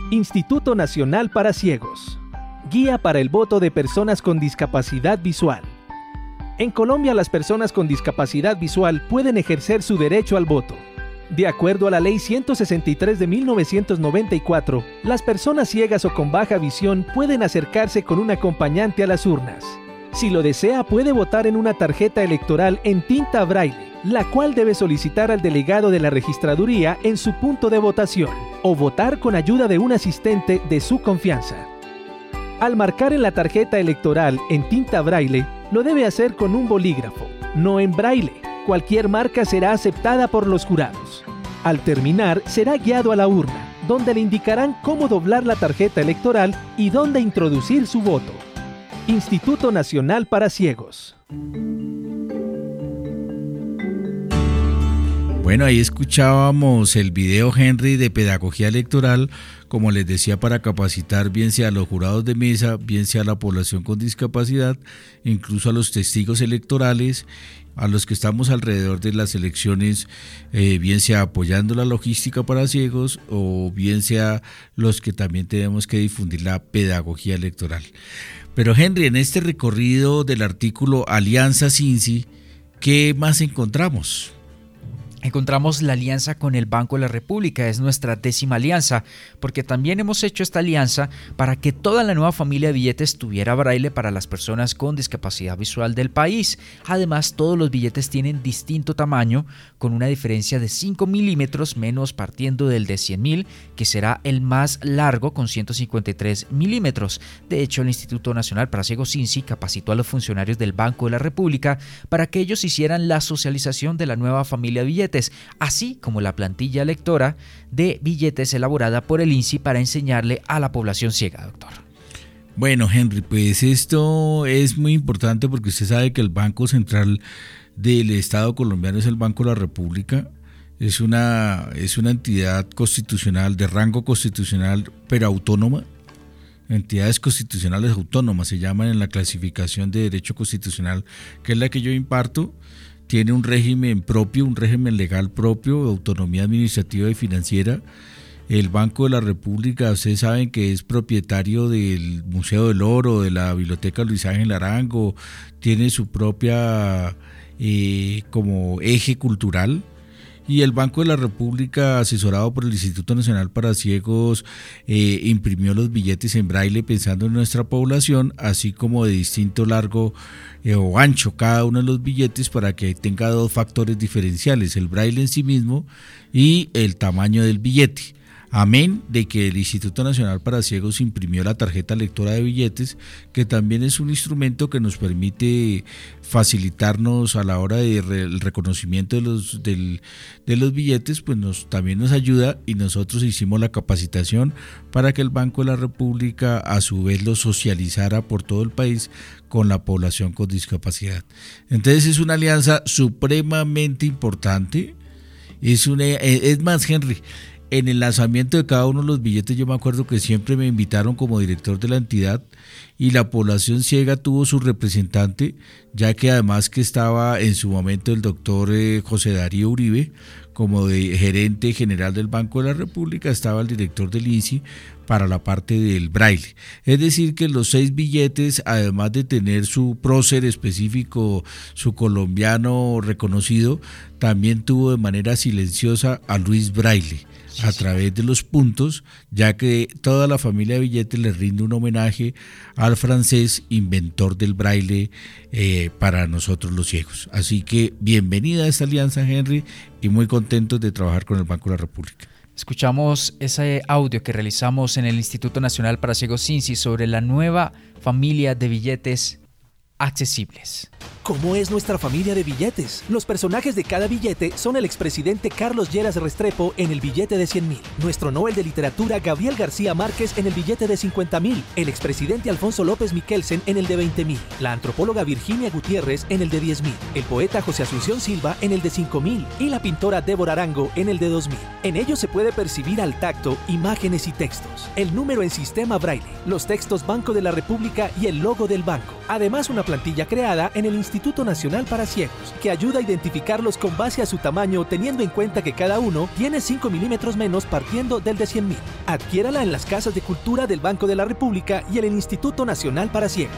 Instituto Nacional para Ciegos. Guía para el voto de personas con discapacidad visual. En Colombia, las personas con discapacidad visual pueden ejercer su derecho al voto. De acuerdo a la Ley ciento sesenta y tres de mil novecientos noventa y cuatro, las personas ciegas o con baja visión pueden acercarse con un acompañante a las urnas. Si lo desea, puede votar en una tarjeta electoral en tinta braille, la cual debe solicitar al delegado de la registraduría en su punto de votación, o votar con ayuda de un asistente de su confianza. Al marcar en la tarjeta electoral en tinta braille, lo debe hacer con un bolígrafo, no en braille. Cualquier marca será aceptada por los jurados. Al terminar, será guiado a la urna, donde le indicarán cómo doblar la tarjeta electoral y dónde introducir su voto. Instituto Nacional para Ciegos. Bueno, ahí escuchábamos el video, Henry, de pedagogía electoral, como les decía, para capacitar bien sea a los jurados de mesa, bien sea a la población con discapacidad, incluso a los testigos electorales, a los que estamos alrededor de las elecciones, eh, bien sea apoyando la logística para ciegos o bien sea los que también tenemos que difundir la pedagogía electoral. Pero Henry, en este recorrido del artículo Alianza Cinsi, ¿qué más encontramos? Encontramos la alianza con el Banco de la República, es nuestra décima alianza, porque también hemos hecho esta alianza para que toda la nueva familia de billetes tuviera braille para las personas con discapacidad visual del país. Además, todos los billetes tienen distinto tamaño, con una diferencia de cinco milímetros, menos partiendo del de cien mil, que será el más largo con ciento cincuenta y tres milímetros. De hecho, el Instituto Nacional para Ciegos Cinsi capacitó a los funcionarios del Banco de la República para que ellos hicieran la socialización de la nueva familia de billetes, así como la plantilla lectora de billetes elaborada por el I N S I para enseñarle a la población ciega, doctor. Bueno, Henry, pues esto es muy importante porque usted sabe que el Banco Central del Estado colombiano es el Banco de la República, es una, es una entidad constitucional de rango constitucional pero autónoma. Entidades constitucionales autónomas se llaman en la clasificación de derecho constitucional, que es la que yo imparto. Tiene un régimen propio, un régimen legal propio, autonomía administrativa y financiera. El Banco de la República, ustedes saben que es propietario del Museo del Oro, de la Biblioteca Luis Ángel Arango, tiene su propia eh, como eje cultural. Y el Banco de la República, asesorado por el Instituto Nacional para Ciegos, eh, imprimió los billetes en braille pensando en nuestra población, así como de distinto largo eh, o ancho cada uno de los billetes para que tenga dos factores diferenciales, el braille en sí mismo y el tamaño del billete. Amén de que el Instituto Nacional para Ciegos imprimió la tarjeta lectora de billetes, que también es un instrumento que nos permite facilitarnos a la hora del de reconocimiento de los, del, de los billetes, pues nos, también nos ayuda, y nosotros hicimos la capacitación para que el Banco de la República a su vez lo socializara por todo el país con la población con discapacidad. Entonces es una alianza supremamente importante, es, una, es más, Henry, en el lanzamiento de cada uno de los billetes yo me acuerdo que siempre me invitaron como director de la entidad y la población ciega tuvo su representante, ya que además que estaba en su momento el doctor eh, José Darío Uribe como de gerente general del Banco de la República, estaba el director del I N S I para la parte del braille. Es decir que los seis billetes, además de tener su prócer específico, su colombiano reconocido, también tuvo de manera silenciosa a Luis Braille a través de los puntos, ya que toda la familia de billetes le rinde un homenaje al francés inventor del braille eh, para nosotros los ciegos. Así que bienvenida a esta alianza, Henry, y muy contentos de trabajar con el Banco de la República. Escuchamos ese audio que realizamos en el Instituto Nacional para Ciegos Cinsi sobre la nueva familia de billetes accesibles. ¿Cómo es nuestra familia de billetes? Los personajes de cada billete son el expresidente Carlos Lleras Restrepo en el billete de cien mil, nuestro Nobel de Literatura Gabriel García Márquez en el billete de cincuenta mil, el expresidente Alfonso López Miquelsen en el de veinte mil, la antropóloga Virginia Gutiérrez en el de diez mil, el poeta José Asunción Silva en el de cinco mil y la pintora Débora Arango en el de dos mil. En ellos se puede percibir al tacto imágenes y textos, el número en sistema braille, los textos Banco de la República y el logo del banco. Además, una plantilla creada en el Instituto Instituto Nacional para Ciegos, que ayuda a identificarlos con base a su tamaño, teniendo en cuenta que cada uno tiene cinco milímetros menos partiendo del de cien mil. Adquiérala en las casas de cultura del Banco de la República y en el Instituto Nacional para Ciegos.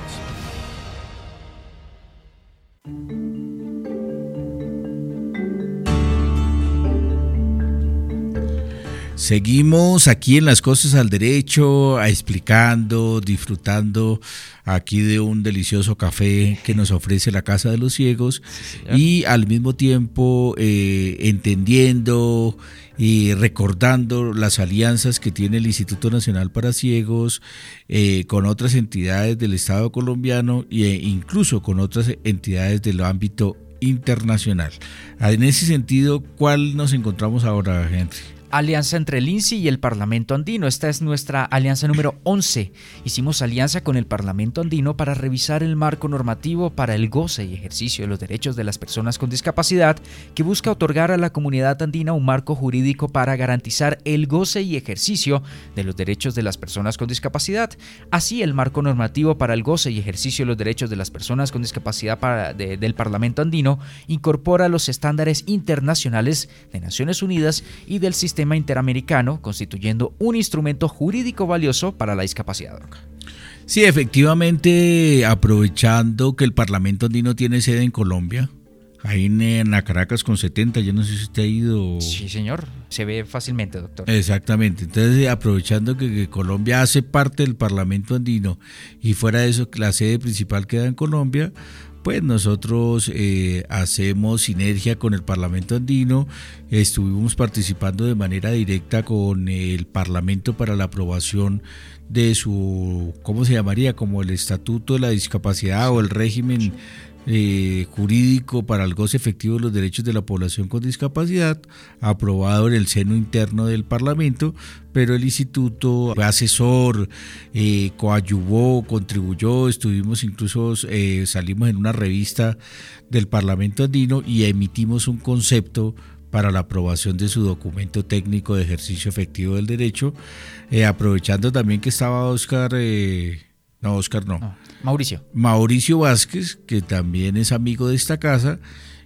Seguimos aquí en Las Cosas al Derecho, explicando, disfrutando aquí de un delicioso café que nos ofrece la Casa de los Ciegos, sí, y al mismo tiempo eh, entendiendo y recordando las alianzas que tiene el Instituto Nacional para Ciegos eh, con otras entidades del Estado colombiano e incluso con otras entidades del ámbito internacional. En ese sentido, ¿cuál nos encontramos ahora, Henry? Alianza entre el INSI y el Parlamento Andino. Esta es nuestra alianza número once. Hicimos alianza con el Parlamento Andino para revisar el marco normativo para el goce y ejercicio de los derechos de las personas con discapacidad, que busca otorgar a la comunidad andina un marco jurídico para garantizar el goce y ejercicio de los derechos de las personas con discapacidad. Así, el marco normativo para el goce y ejercicio de los derechos de las personas con discapacidad para, de, del Parlamento Andino incorpora los estándares internacionales de Naciones Unidas y del sistema interamericano, constituyendo un instrumento jurídico valioso para la discapacidad. Sí, efectivamente, aprovechando que el Parlamento Andino tiene sede en Colombia, ahí en la Caracas con setenta, yo no sé si usted ha ido. Sí, señor, se ve fácilmente, doctor. Exactamente, entonces aprovechando que, que Colombia hace parte del Parlamento Andino y fuera de eso la sede principal queda en Colombia, pues nosotros eh, hacemos sinergia con el Parlamento Andino, estuvimos participando de manera directa con el Parlamento para la aprobación de su, ¿cómo se llamaría? Como el Estatuto de la Discapacidad o el régimen eh, jurídico para el goce efectivo de los derechos de la población con discapacidad, aprobado en el seno interno del Parlamento, pero el instituto fue asesor, eh, coadyuvó, contribuyó, estuvimos incluso, eh, salimos en una revista del Parlamento Andino y emitimos un concepto para la aprobación de su documento técnico de ejercicio efectivo del derecho, eh, aprovechando también que estaba Oscar, eh, no Oscar no, no, Mauricio. Mauricio Vázquez, que también es amigo de esta casa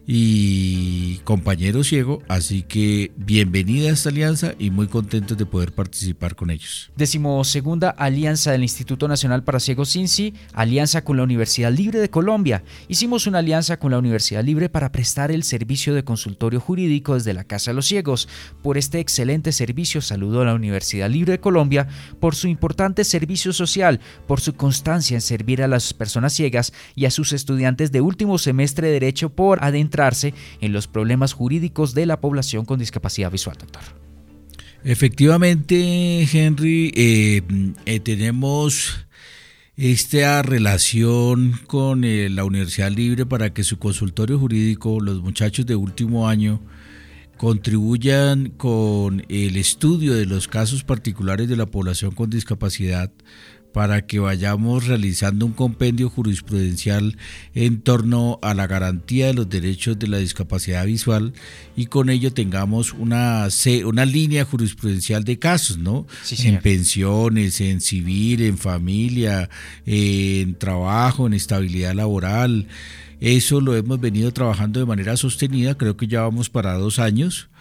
y compañero ciego, así que bienvenida a esta alianza y muy contentos de poder participar con ellos. Decimosegunda alianza del Instituto Nacional para Ciegos INSI, alianza con la Universidad Libre de Colombia. Hicimos una alianza con la Universidad Libre para prestar el servicio de consultorio jurídico desde la Casa de los Ciegos. Por este excelente servicio saludo a la Universidad Libre de Colombia por su importante servicio social, por su constancia en servir a las personas ciegas y a sus estudiantes de último semestre de Derecho por adentrar en los problemas jurídicos de la población con discapacidad visual, doctor. Efectivamente, Henry, eh, eh, tenemos esta relación con eh, la Universidad Libre para que su consultorio jurídico, los muchachos de último año, contribuyan con el estudio de los casos particulares de la población con discapacidad, para que vayamos realizando un compendio jurisprudencial en torno a la garantía de los derechos de la discapacidad visual y con ello tengamos una, una línea jurisprudencial de casos, ¿no? Sí, en pensiones, en civil, en familia, en trabajo, en estabilidad laboral. Eso lo hemos venido trabajando de manera sostenida, creo que ya vamos para dos años.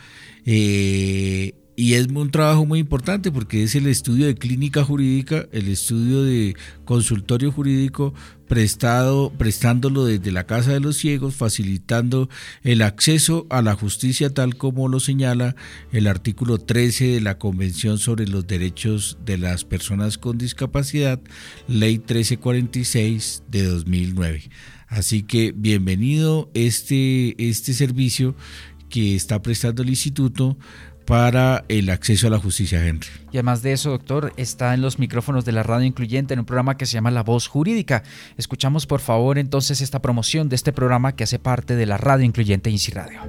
Eh, Y es un trabajo muy importante porque es el estudio de clínica jurídica, el estudio de consultorio jurídico prestado, prestándolo desde la Casa de los Ciegos, facilitando el acceso a la justicia tal como lo señala el artículo trece de la Convención sobre los Derechos de las Personas con Discapacidad, Ley trece cuarenta y seis de dos mil nueve. Así que bienvenido este, este servicio que está prestando el instituto para el acceso a la justicia, Henry. Y además de eso, doctor, está en los micrófonos de la radio incluyente en un programa que se llama La Voz Jurídica. Escuchamos por favor entonces esta promoción de este programa que hace parte de la radio incluyente INSI Radio.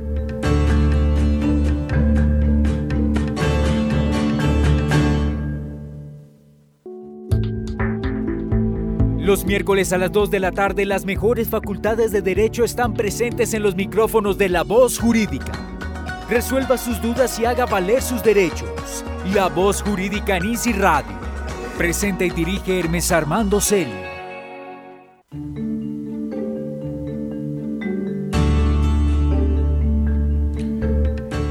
Los miércoles a las dos de la tarde, las mejores facultades de Derecho están presentes en los micrófonos de La Voz Jurídica. Resuelva sus dudas y haga valer sus derechos. La Voz Jurídica en INSI Radio. Presenta y dirige Hermes Armando Celi.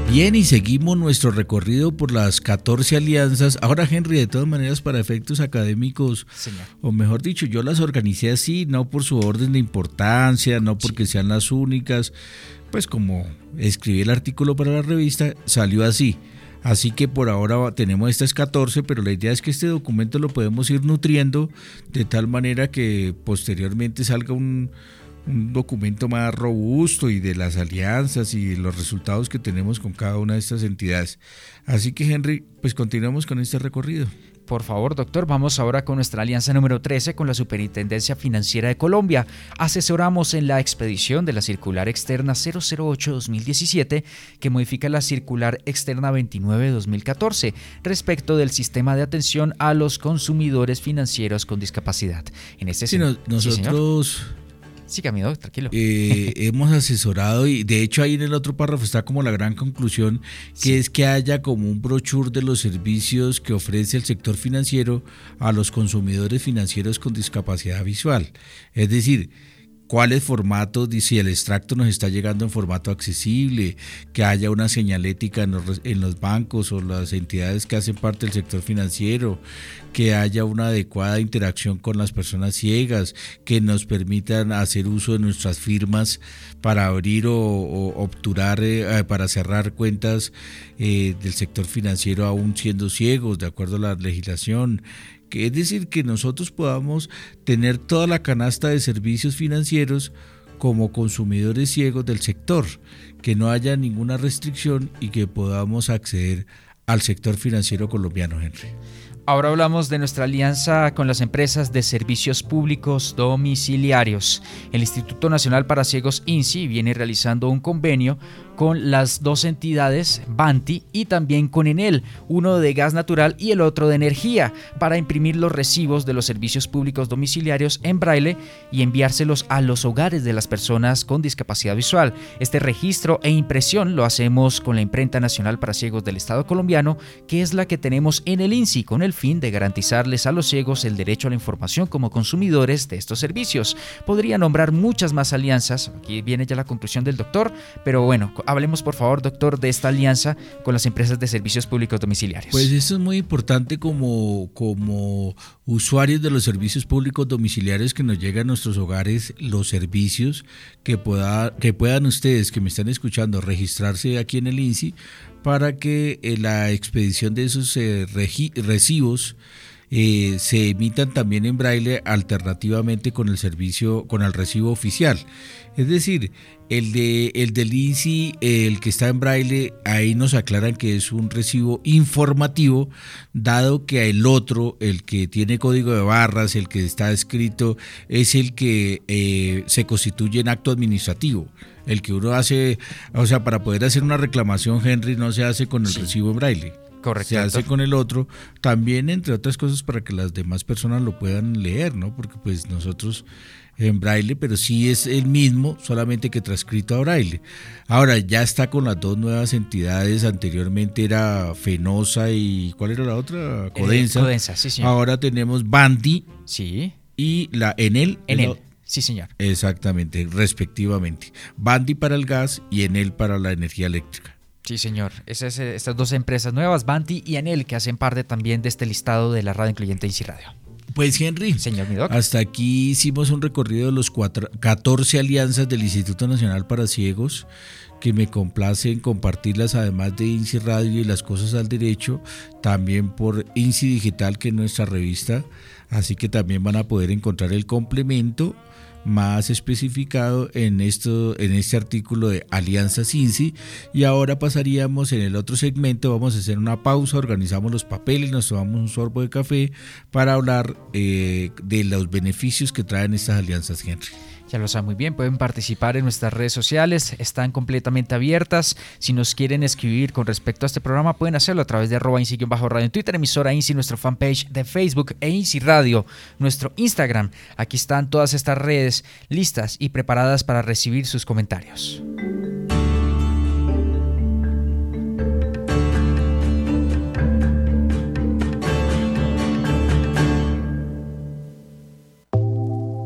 Bien, y seguimos nuestro recorrido por las catorce alianzas. Ahora, Henry, de todas maneras, para efectos académicos, Señor. o mejor dicho, yo las organicé así, no por su orden de importancia, no porque sí. sean las únicas, pues como escribí el artículo para la revista, salió así. Así que por ahora tenemos estas catorce, pero la idea es que este documento lo podemos ir nutriendo de tal manera que posteriormente salga un... un documento más robusto y de las alianzas y de los resultados que tenemos con cada una de estas entidades. Así que, Henry, pues continuamos con este recorrido. Por favor, doctor, vamos ahora con nuestra alianza número trece con la Superintendencia Financiera de Colombia. Asesoramos en la expedición de la circular externa cero cero ocho guión dos mil diecisiete que modifica la circular externa veintinueve guión dos mil catorce respecto del sistema de atención a los consumidores financieros con discapacidad. En este sí, no, nosotros... Sí, Sí, Camilo, tranquilo. Eh, hemos asesorado y de hecho ahí en el otro párrafo está como la gran conclusión, que sí. es que haya como un brochure de los servicios que ofrece el sector financiero a los consumidores financieros con discapacidad visual. Es decir, cuáles formatos, si el extracto nos está llegando en formato accesible, que haya una señalética en los, en los bancos o las entidades que hacen parte del sector financiero, que haya una adecuada interacción con las personas ciegas, que nos permitan hacer uso de nuestras firmas para abrir o, o obturar, eh, para cerrar cuentas eh, del sector financiero aún siendo ciegos, de acuerdo a la legislación. Que es decir, que nosotros podamos tener toda la canasta de servicios financieros como consumidores ciegos del sector, que no haya ninguna restricción y que podamos acceder al sector financiero colombiano, Henry. Ahora hablamos de nuestra alianza con las empresas de servicios públicos domiciliarios. El Instituto Nacional para Ciegos I N S I viene realizando un convenio con las dos entidades, Banti y también con Enel, uno de gas natural y el otro de energía, para imprimir los recibos de los servicios públicos domiciliarios en braille y enviárselos a los hogares de las personas con discapacidad visual. Este registro e impresión lo hacemos con la Imprenta Nacional para Ciegos del Estado colombiano, que es la que tenemos en el I N S I, con el fin de garantizarles a los ciegos el derecho a la información como consumidores de estos servicios. Podría nombrar muchas más alianzas, aquí viene ya la conclusión del doctor, pero bueno, hablemos por favor, doctor, de esta alianza con las empresas de servicios públicos domiciliarios. Pues esto es muy importante como, como usuarios de los servicios públicos domiciliarios, que nos llegan a nuestros hogares los servicios, que, pueda, que puedan ustedes que me están escuchando registrarse aquí en el I N S I para que eh, la expedición de esos eh, regi- recibos eh, se emitan también en braille alternativamente con el servicio, con el recibo oficial. Es decir, el de el del I N S I, el que está en braille, ahí nos aclaran que es un recibo informativo, dado que el otro, el que tiene código de barras, el que está escrito, es el que eh, se constituye en acto administrativo. El que uno hace, o sea, para poder hacer una reclamación, Henry, no se hace con el sí. recibo en braille. Correcto. Se hace con el otro, también entre otras cosas para que las demás personas lo puedan leer, ¿no? Porque pues nosotros en braille, pero sí es el mismo, solamente que transcrito a braille. Ahora ya está con las dos nuevas entidades, anteriormente era Fenosa y ¿cuál era la otra? Codensa. Eh, Codensa, sí señor. Ahora tenemos Banti sí. y la Enel. Enel. Sí, señor. Exactamente, respectivamente. Banti para el gas y Enel para la energía eléctrica. Sí, señor. Esas, estas dos empresas nuevas, Banti y Enel, que hacen parte también de este listado de la radio incluyente I N S I Radio. Pues Henry, señor Midoc, hasta aquí hicimos un recorrido de los cuatro, catorce alianzas del Instituto Nacional para Ciegos, que me complace en compartirlas, además de I N S I Radio y Las Cosas al Derecho, también por I N S I Digital, que es nuestra revista, así que también van a poder encontrar el complemento más especificado en esto, en este artículo de Alianzas I N S I. Y ahora pasaríamos en el otro segmento, vamos a hacer una pausa, organizamos los papeles, nos tomamos un sorbo de café para hablar eh, de los beneficios que traen estas alianzas, Henry. Ya lo saben muy bien, pueden participar en nuestras redes sociales, están completamente abiertas. Si nos quieren escribir con respecto a este programa, pueden hacerlo a través de arroba I N S I-radio en Twitter, emisora I N S I, nuestro fanpage de Facebook e I N S I Radio, nuestro Instagram. Aquí están todas estas redes listas y preparadas para recibir sus comentarios.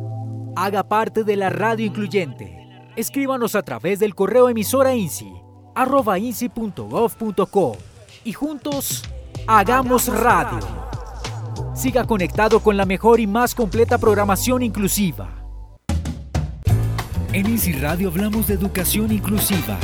Haga parte de la radio incluyente. Escríbanos a través del correo emisora I N S I arroba insi punto gov punto co y juntos hagamos radio. Siga conectado con la mejor y más completa programación inclusiva. En INSI Radio hablamos de educación inclusiva.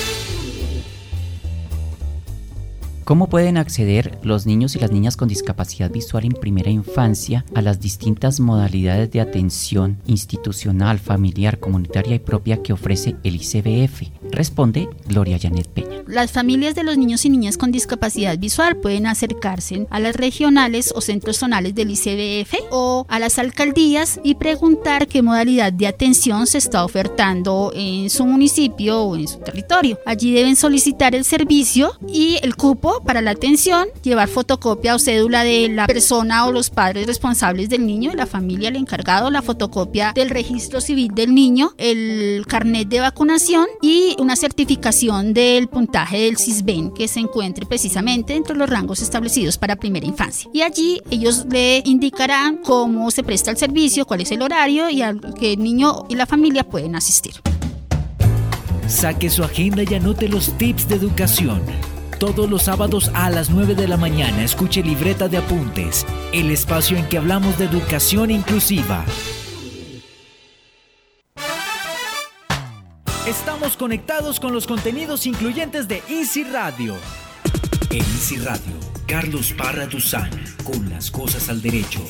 ¿Cómo pueden acceder los niños y las niñas con discapacidad visual en primera infancia a las distintas modalidades de atención institucional, familiar, comunitaria y propia que ofrece el I C B F? Responde Gloria Janet Peña. Las familias de los niños y niñas con discapacidad visual pueden acercarse a las regionales o centros zonales del I C B F o a las alcaldías y preguntar qué modalidad de atención se está ofertando en su municipio o en su territorio. Allí deben solicitar el servicio y el cupo para la atención, llevar fotocopia o cédula de la persona o los padres responsables del niño, la familia, el encargado, la fotocopia del registro civil del niño, el carnet de vacunación y una certificación del puntaje del CISBEN que se encuentre precisamente entre los rangos establecidos para primera infancia. Y allí ellos le indicarán cómo se presta el servicio, cuál es el horario y al que el niño y la familia pueden asistir. Saque su agenda y anote los tips de educación. Todos los sábados a las nueve de la mañana escuche Libreta de Apuntes, el espacio en que hablamos de educación inclusiva. Estamos conectados con los contenidos incluyentes de INSI Radio. En INSI Radio, Carlos Parra Duzán, con las cosas al derecho.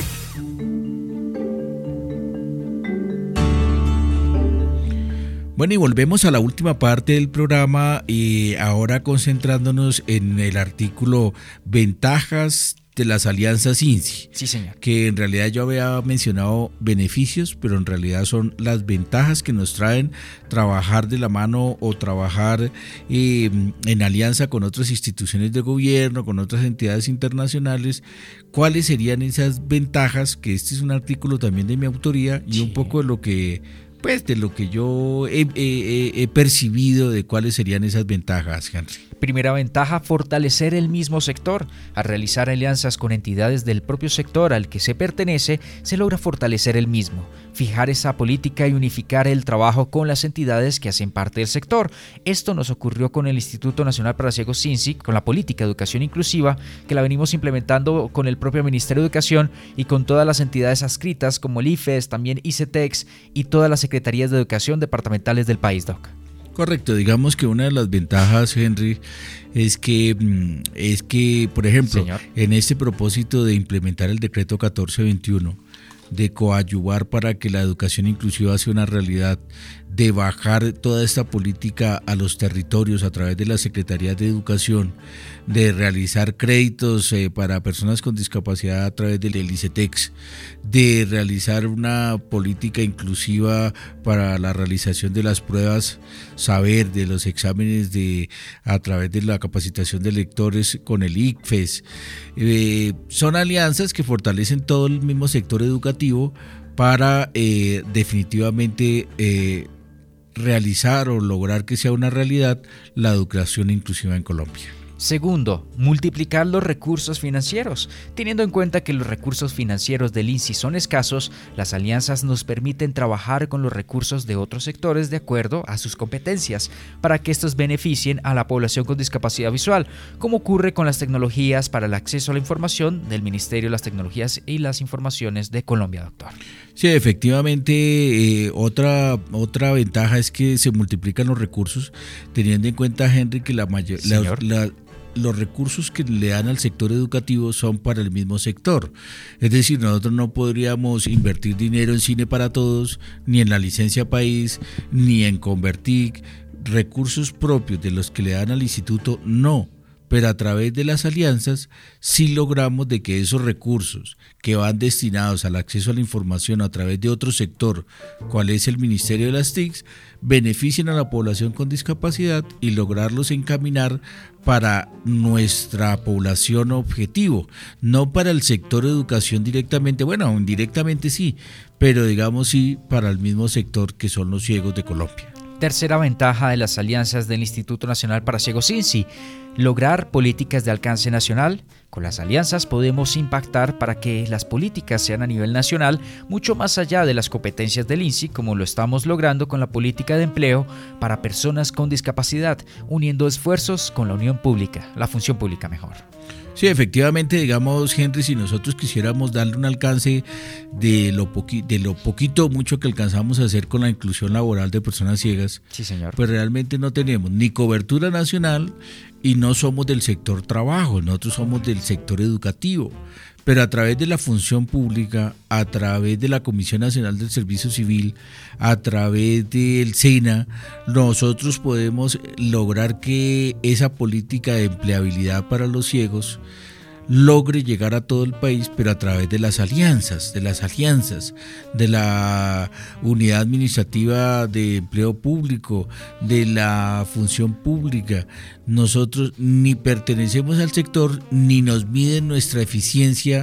Bueno, y volvemos a la última parte del programa y ahora concentrándonos en el artículo Ventajas de las alianzas INSI. Sí, señor. Que en realidad yo había mencionado beneficios, pero en realidad son las ventajas que nos traen trabajar de la mano o trabajar eh, en alianza con otras instituciones de gobierno, con otras entidades internacionales. ¿Cuáles serían esas ventajas? Que este es un artículo también de mi autoría y sí. Un poco de lo que... Pues de lo que yo he, he, he percibido de cuáles serían esas ventajas, Henry. Primera ventaja, fortalecer el mismo sector. Al realizar alianzas con entidades del propio sector al que se pertenece, se logra fortalecer el mismo, fijar esa política y unificar el trabajo con las entidades que hacen parte del sector. Esto nos ocurrió con el Instituto Nacional para Ciegos INSI, con la política de educación inclusiva, que la venimos implementando con el propio Ministerio de Educación y con todas las entidades adscritas como el IFES, también ICETEX y todas las secretarías de educación departamentales del país, Doc. Correcto, digamos que una de las ventajas, Henry, es que, es que por ejemplo, Señor. En este propósito de implementar el decreto catorce veintiuno, de coadyuvar para que la educación inclusiva sea una realidad, de bajar toda esta política a los territorios a través de las secretarías de educación, de realizar créditos eh, para personas con discapacidad a través del ICETEX, de realizar una política inclusiva para la realización de las pruebas saber, de los exámenes de a través de la capacitación de lectores con el ICFES. Eh, son alianzas que fortalecen todo el mismo sector educativo para eh, definitivamente eh, realizar o lograr que sea una realidad la educación inclusiva en Colombia. Segundo, multiplicar los recursos financieros. Teniendo en cuenta que los recursos financieros del INSI son escasos, las alianzas nos permiten trabajar con los recursos de otros sectores de acuerdo a sus competencias, para que estos beneficien a la población con discapacidad visual, como ocurre con las tecnologías para el acceso a la información del Ministerio de las Tecnologías y las Informaciones de Colombia, doctor. Sí, efectivamente, eh, otra, otra ventaja es que se multiplican los recursos, teniendo en cuenta, Henry, que la mayor... La, la, los recursos que le dan al sector educativo son para el mismo sector. Es decir, nosotros no podríamos invertir dinero en Cine para Todos, ni en la licencia país, ni en Convertic, recursos propios de los que le dan al instituto, no. Pero a través de las alianzas sí logramos de que esos recursos que van destinados al acceso a la información a través de otro sector, cual es el Ministerio de las T I Cs, beneficien a la población con discapacidad y lograrlos encaminar para nuestra población objetivo, no para el sector educación directamente, bueno, indirectamente sí, pero digamos sí para el mismo sector que son los ciegos de Colombia. Tercera ventaja de las alianzas del Instituto Nacional para Ciegos INSI, lograr políticas de alcance nacional. Con las alianzas podemos impactar para que las políticas sean a nivel nacional, mucho más allá de las competencias del I N S S I, como lo estamos logrando con la política de empleo para personas con discapacidad, uniendo esfuerzos con la unión pública, la función pública mejor. Sí, efectivamente, digamos, Henry, si nosotros quisiéramos darle un alcance de lo, poqui, de lo poquito o mucho que alcanzamos a hacer con la inclusión laboral de personas ciegas, sí, señor, pues realmente no tenemos ni cobertura nacional y no somos del sector trabajo, nosotros somos del sector educativo. Pero a través de la función pública, a través de la Comisión Nacional del Servicio Civil, a través del SENA, nosotros podemos lograr que esa política de empleabilidad para los ciegos logre llegar a todo el país, pero a través de las alianzas, de las alianzas, de la unidad administrativa de empleo público, de la función pública. Nosotros ni pertenecemos al sector, ni nos miden nuestra eficiencia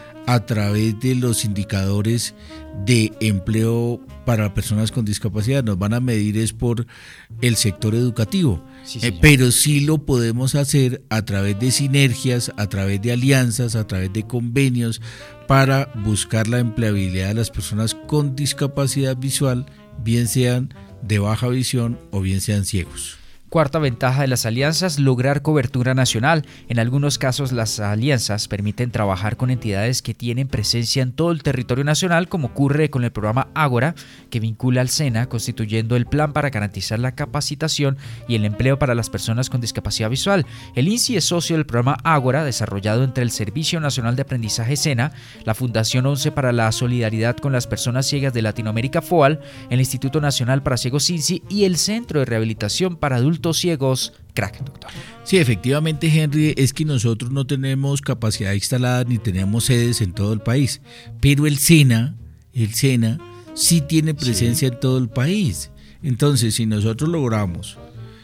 a través de los indicadores de empleo para personas con discapacidad. Nos van a medir es por el sector educativo. Sí, eh, pero sí lo podemos hacer a través de sinergias, a través de alianzas, a través de convenios para buscar la empleabilidad de las personas con discapacidad visual, bien sean de baja visión o bien sean ciegos. Cuarta ventaja de las alianzas, lograr cobertura nacional. En algunos casos las alianzas permiten trabajar con entidades que tienen presencia en todo el territorio nacional, como ocurre con el programa Ágora, que vincula al SENA, constituyendo el plan para garantizar la capacitación y el empleo para las personas con discapacidad visual. El I N S S I es socio del programa Ágora, desarrollado entre el Servicio Nacional de Aprendizaje SENA, la Fundación once para la Solidaridad con las Personas Ciegas de Latinoamérica FOAL, el Instituto Nacional para Ciegos I N S S I y el Centro de Rehabilitación para Adultos Ciegos, crack, doctor. Sí, efectivamente, Henry, es que nosotros no tenemos capacidad instalada ni tenemos sedes en todo el país, pero el SENA, el SENA sí tiene presencia sí. en todo el país. Entonces, si nosotros logramos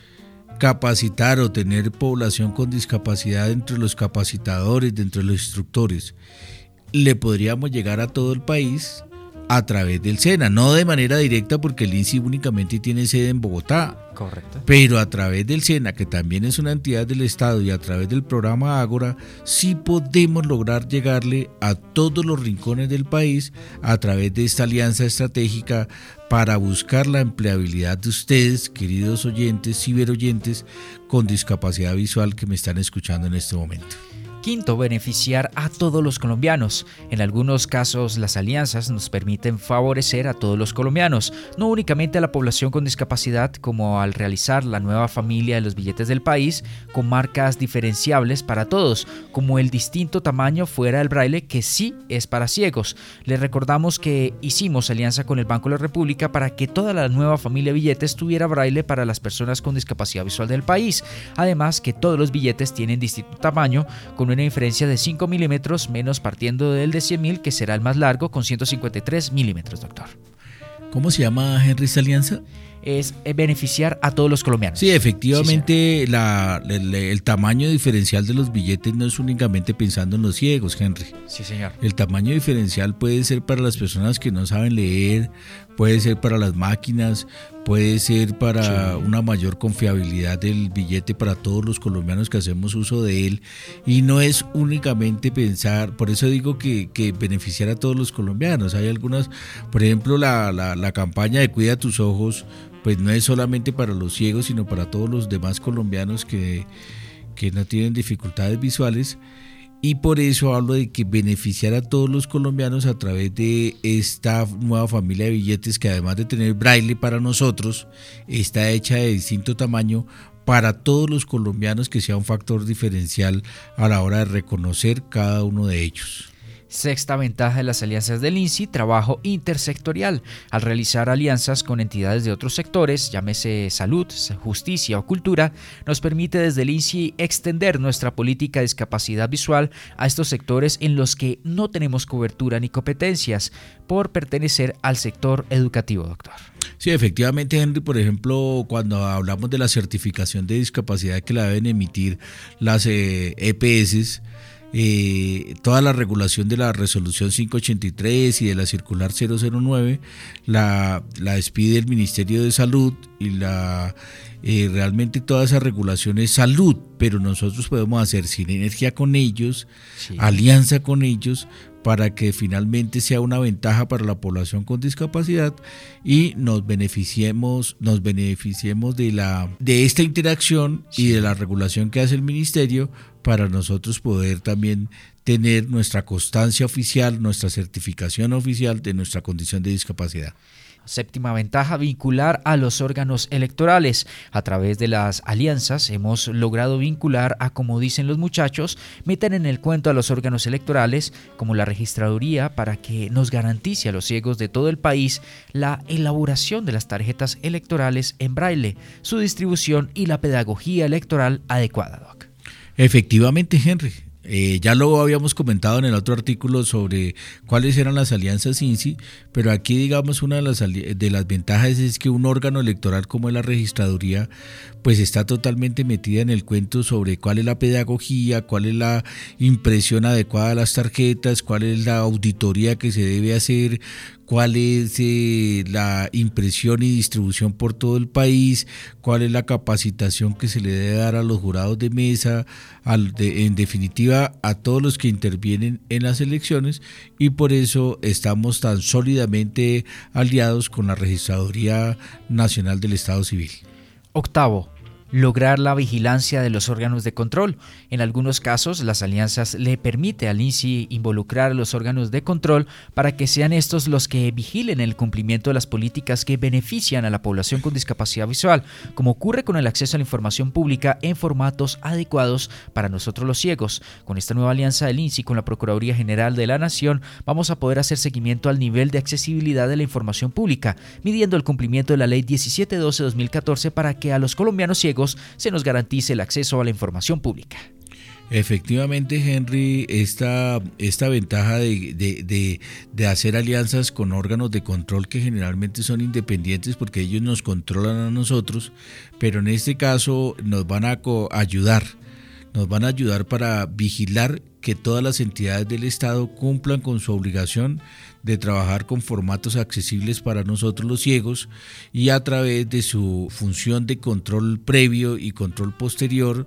capacitar o tener población con discapacidad entre los capacitadores, dentro de los instructores, le podríamos llegar a todo el país a través del SENA, no de manera directa porque el I N S S I únicamente tiene sede en Bogotá. Correcto. Pero a través del SENA, que también es una entidad del Estado, y a través del programa Ágora, sí podemos lograr llegarle a todos los rincones del país a través de esta alianza estratégica para buscar la empleabilidad de ustedes, queridos oyentes, ciberoyentes, con discapacidad visual que me están escuchando en este momento. Quinto, beneficiar a todos los colombianos. En algunos casos, las alianzas nos permiten favorecer a todos los colombianos, no únicamente a la población con discapacidad, como al realizar la nueva familia de los billetes del país, con marcas diferenciables para todos, como el distinto tamaño fuera del braille, que sí es para ciegos. Les recordamos que hicimos alianza con el Banco de la República para que toda la nueva familia de billetes tuviera braille para las personas con discapacidad visual del país. Además, que todos los billetes tienen distinto tamaño, con una diferencia de cinco milímetros, menos partiendo del de cien mil, que será el más largo, con ciento cincuenta y tres milímetros, doctor. ¿Cómo se llama, Henry, esta alianza? Es beneficiar a todos los colombianos. Sí, efectivamente, sí, la, el, el tamaño diferencial de los billetes no es únicamente pensando en los ciegos, Henry. Sí, señor. El tamaño diferencial puede ser para las personas que no saben leer, puede ser para las máquinas, puede ser para sí. una mayor confiabilidad del billete para todos los colombianos que hacemos uso de él, y no es únicamente pensar, por eso digo que, que beneficiar a todos los colombianos. Hay algunas, por ejemplo, la, la, la campaña de Cuida tus ojos, pues no es solamente para los ciegos, sino para todos los demás colombianos que, que no tienen dificultades visuales. Y por eso hablo de que beneficiar a todos los colombianos a través de esta nueva familia de billetes, que además de tener braille para nosotros, está hecha de distinto tamaño para todos los colombianos, que sea un factor diferencial a la hora de reconocer cada uno de ellos. Sexta ventaja de las alianzas del I N S S I, trabajo intersectorial. Al realizar alianzas con entidades de otros sectores, llámese salud, justicia o cultura, nos permite desde el I N S S I extender nuestra política de discapacidad visual a estos sectores en los que no tenemos cobertura ni competencias por pertenecer al sector educativo, doctor. Sí, efectivamente, Henry, por ejemplo, cuando hablamos de la certificación de discapacidad que la deben emitir las eh, E P S, Eh, toda la regulación de la resolución quinientos ochenta y tres y de la circular cero cero nueve la, la expide el Ministerio de Salud y la eh, realmente toda esa regulación es salud, pero nosotros podemos hacer sinergia con ellos, sí. alianza con ellos, para que finalmente sea una ventaja para la población con discapacidad y nos beneficiemos, nos beneficiemos de la de esta interacción sí. y de la regulación que hace el ministerio para nosotros poder también tener nuestra constancia oficial, nuestra certificación oficial de nuestra condición de discapacidad. Séptima ventaja, vincular a los órganos electorales. A través de las alianzas hemos logrado vincular a, como dicen los muchachos, meter en el cuento a los órganos electorales como la registraduría para que nos garantice a los ciegos de todo el país la elaboración de las tarjetas electorales en braille, su distribución y la pedagogía electoral adecuada, Doc. Efectivamente, Henry. Eh, ya lo habíamos comentado en el otro artículo sobre cuáles eran las alianzas INSI, pero aquí digamos una de las, de las ventajas es que un órgano electoral como es la registraduría pues está totalmente metida en el cuento sobre cuál es la pedagogía, cuál es la impresión adecuada de las tarjetas, cuál es la auditoría que se debe hacer, cuál es eh, la impresión y distribución por todo el país, cuál es la capacitación que se le debe dar a los jurados de mesa, al de, en definitiva a todos los que intervienen en las elecciones, y por eso estamos tan sólidamente aliados con la Registraduría Nacional del Estado Civil. Octavo, lograr la vigilancia de los órganos de control. En algunos casos, las alianzas le permite al INSI involucrar a los órganos de control para que sean estos los que vigilen el cumplimiento de las políticas que benefician a la población con discapacidad visual, como ocurre con el acceso a la información pública en formatos adecuados para nosotros los ciegos. Con esta nueva alianza del INSI con la Procuraduría General de la Nación, vamos a poder hacer seguimiento al nivel de accesibilidad de la información pública, midiendo el cumplimiento de la Ley diecisiete doce dos mil catorce para que a los colombianos ciegos se nos garantice el acceso a la información pública. Efectivamente, Henry, esta, esta ventaja de, de, de, de hacer alianzas con órganos de control que generalmente son independientes porque ellos nos controlan a nosotros, pero en este caso nos van a co- ayudar, nos van a ayudar para vigilar que todas las entidades del Estado cumplan con su obligación de trabajar con formatos accesibles para nosotros los ciegos y a través de su función de control previo y control posterior,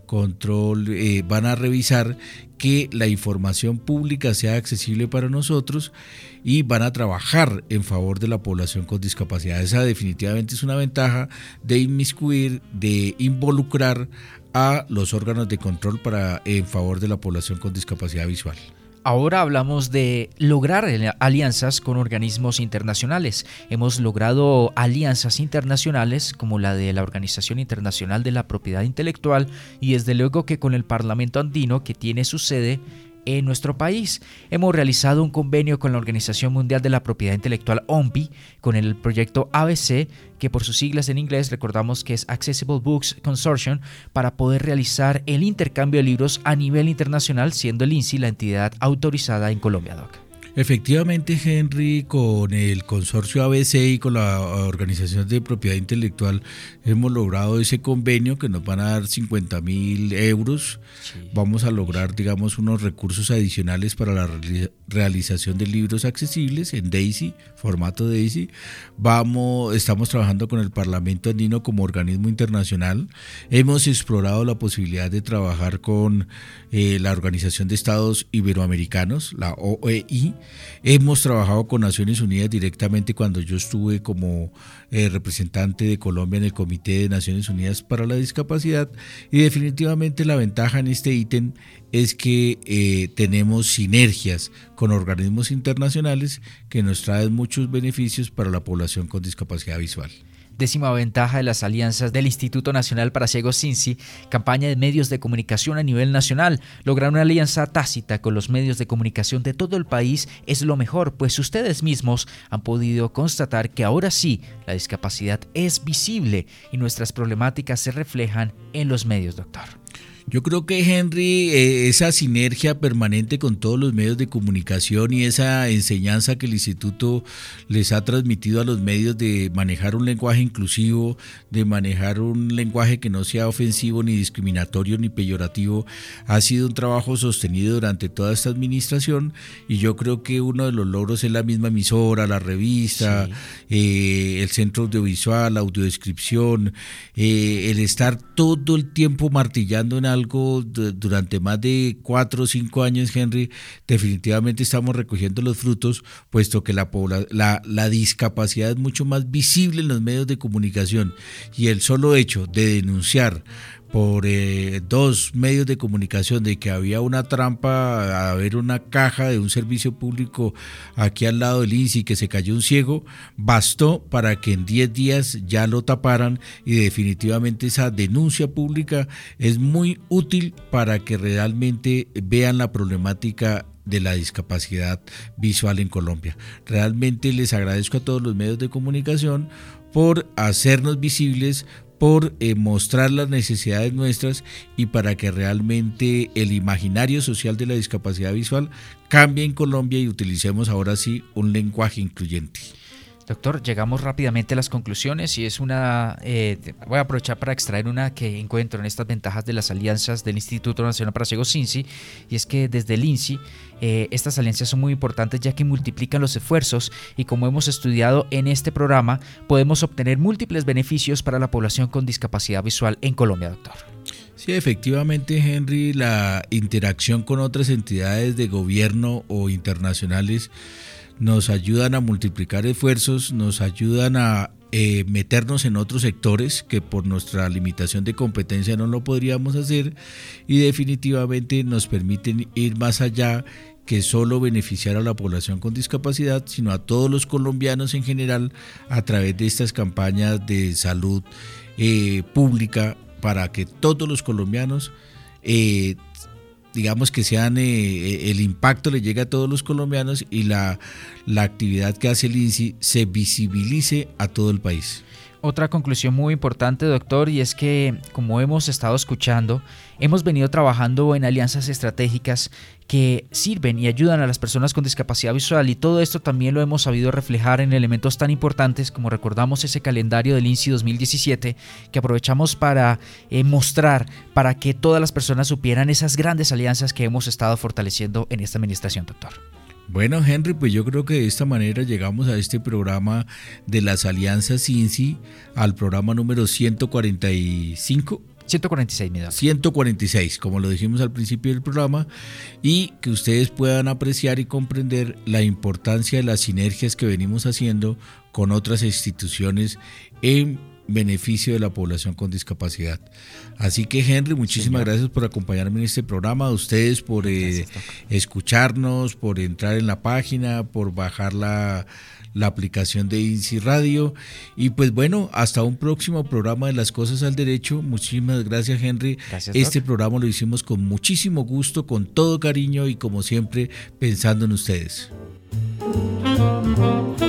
control eh, van a revisar que la información pública sea accesible para nosotros y van a trabajar en favor de la población con discapacidad. Esa definitivamente es una ventaja de inmiscuir, de involucrar a los órganos de control para en favor de la población con discapacidad visual. Ahora hablamos de lograr alianzas con organismos internacionales. Hemos logrado alianzas internacionales como la de la Organización Internacional de la Propiedad Intelectual y desde luego que con el Parlamento Andino, que tiene su sede en nuestro país. Hemos realizado un convenio con la Organización Mundial de la Propiedad Intelectual, O M P I, con el proyecto A B C, que por sus siglas en inglés recordamos que es Accessible Books Consortium, para poder realizar el intercambio de libros a nivel internacional, siendo el INSI la entidad autorizada en Colombia, Doc. Efectivamente, Henry, con el consorcio A B C y con la Organización de Propiedad Intelectual hemos logrado ese convenio que nos van a dar cincuenta mil euros. Sí. Vamos a lograr, digamos, unos recursos adicionales para la re- realización de libros accesibles en DAISY, formato DAISY. Vamos, estamos trabajando con el Parlamento Andino como organismo internacional. Hemos explorado la posibilidad de trabajar con eh, la Organización de Estados Iberoamericanos, la O E I. Hemos trabajado con Naciones Unidas directamente cuando yo estuve como eh, representante de Colombia en el Comité de Naciones Unidas para la Discapacidad, y definitivamente la ventaja en este ítem es que eh, tenemos sinergias con organismos internacionales que nos traen muchos beneficios para la población con discapacidad visual. Décima ventaja de las alianzas del Instituto Nacional para Ciegos INSI, campaña de medios de comunicación a nivel nacional. Lograr una alianza tácita con los medios de comunicación de todo el país es lo mejor, pues ustedes mismos han podido constatar que ahora sí la discapacidad es visible y nuestras problemáticas se reflejan en los medios, doctor. Yo creo que, Henry, eh, esa sinergia permanente con todos los medios de comunicación y esa enseñanza que el instituto les ha transmitido a los medios de manejar un lenguaje inclusivo, de manejar un lenguaje que no sea ofensivo, ni discriminatorio, ni peyorativo, ha sido un trabajo sostenido durante toda esta administración, y yo creo que uno de los logros es la misma emisora, la revista, sí. eh, el centro audiovisual, la audiodescripción, eh, el estar todo el tiempo martillando en algo durante más de cuatro o cinco años, Henry. Definitivamente estamos recogiendo los frutos, puesto que la, la, la discapacidad es mucho más visible en los medios de comunicación, y el solo hecho de denunciar por eh, dos medios de comunicación de que había una trampa, a ver una caja de un servicio público aquí al lado del I N S S, que se cayó un ciego, bastó para que en diez días ya lo taparan, y definitivamente esa denuncia pública es muy útil para que realmente vean la problemática de la discapacidad visual en Colombia. Realmente les agradezco a todos los medios de comunicación por hacernos visibles, por eh, mostrar las necesidades nuestras, y para que realmente el imaginario social de la discapacidad visual cambie en Colombia y utilicemos ahora sí un lenguaje incluyente. Doctor, llegamos rápidamente a las conclusiones, y es una, eh, voy a aprovechar para extraer una que encuentro en estas ventajas de las alianzas del Instituto Nacional para Ciegos I N S I, y es que desde el I N S I eh, estas alianzas son muy importantes, ya que multiplican los esfuerzos, y como hemos estudiado en este programa, podemos obtener múltiples beneficios para la población con discapacidad visual en Colombia, doctor. Sí, efectivamente, Henry, la interacción con otras entidades de gobierno o internacionales nos ayudan a multiplicar esfuerzos, nos ayudan a eh, meternos en otros sectores que por nuestra limitación de competencia no lo podríamos hacer, y definitivamente nos permiten ir más allá que solo beneficiar a la población con discapacidad, sino a todos los colombianos en general, a través de estas campañas de salud eh, pública, para que todos los colombianos eh, digamos que sean eh, el impacto le llegue a todos los colombianos, y la, la actividad que hace el I N S I se visibilice a todo el país. Otra conclusión muy importante, doctor, y es que, como hemos estado escuchando, hemos venido trabajando en alianzas estratégicas que sirven y ayudan a las personas con discapacidad visual, y todo esto también lo hemos sabido reflejar en elementos tan importantes como, recordamos, ese calendario del I N S I dos mil diecisiete, que aprovechamos para eh, mostrar, para que todas las personas supieran esas grandes alianzas que hemos estado fortaleciendo en esta administración, doctor. Bueno, Henry, pues yo creo que de esta manera llegamos a este programa de las alianzas I N S I, al programa número ciento cuarenta y cinco. ciento cuarenta y seis, mi doctor. ciento cuarenta y seis, como lo dijimos al principio del programa, y que ustedes puedan apreciar y comprender la importancia de las sinergias que venimos haciendo con otras instituciones en beneficio de la población con discapacidad. Así que, Henry, muchísimas Señor. gracias por acompañarme en este programa, a ustedes por eh, escucharnos, por entrar en la página, por bajar la, la aplicación de I N S I Radio, y pues bueno, hasta un próximo programa de Las Cosas al Derecho. Muchísimas gracias, Henry. Gracias, este Doc. programa lo hicimos con muchísimo gusto, con todo cariño, y como siempre pensando en ustedes.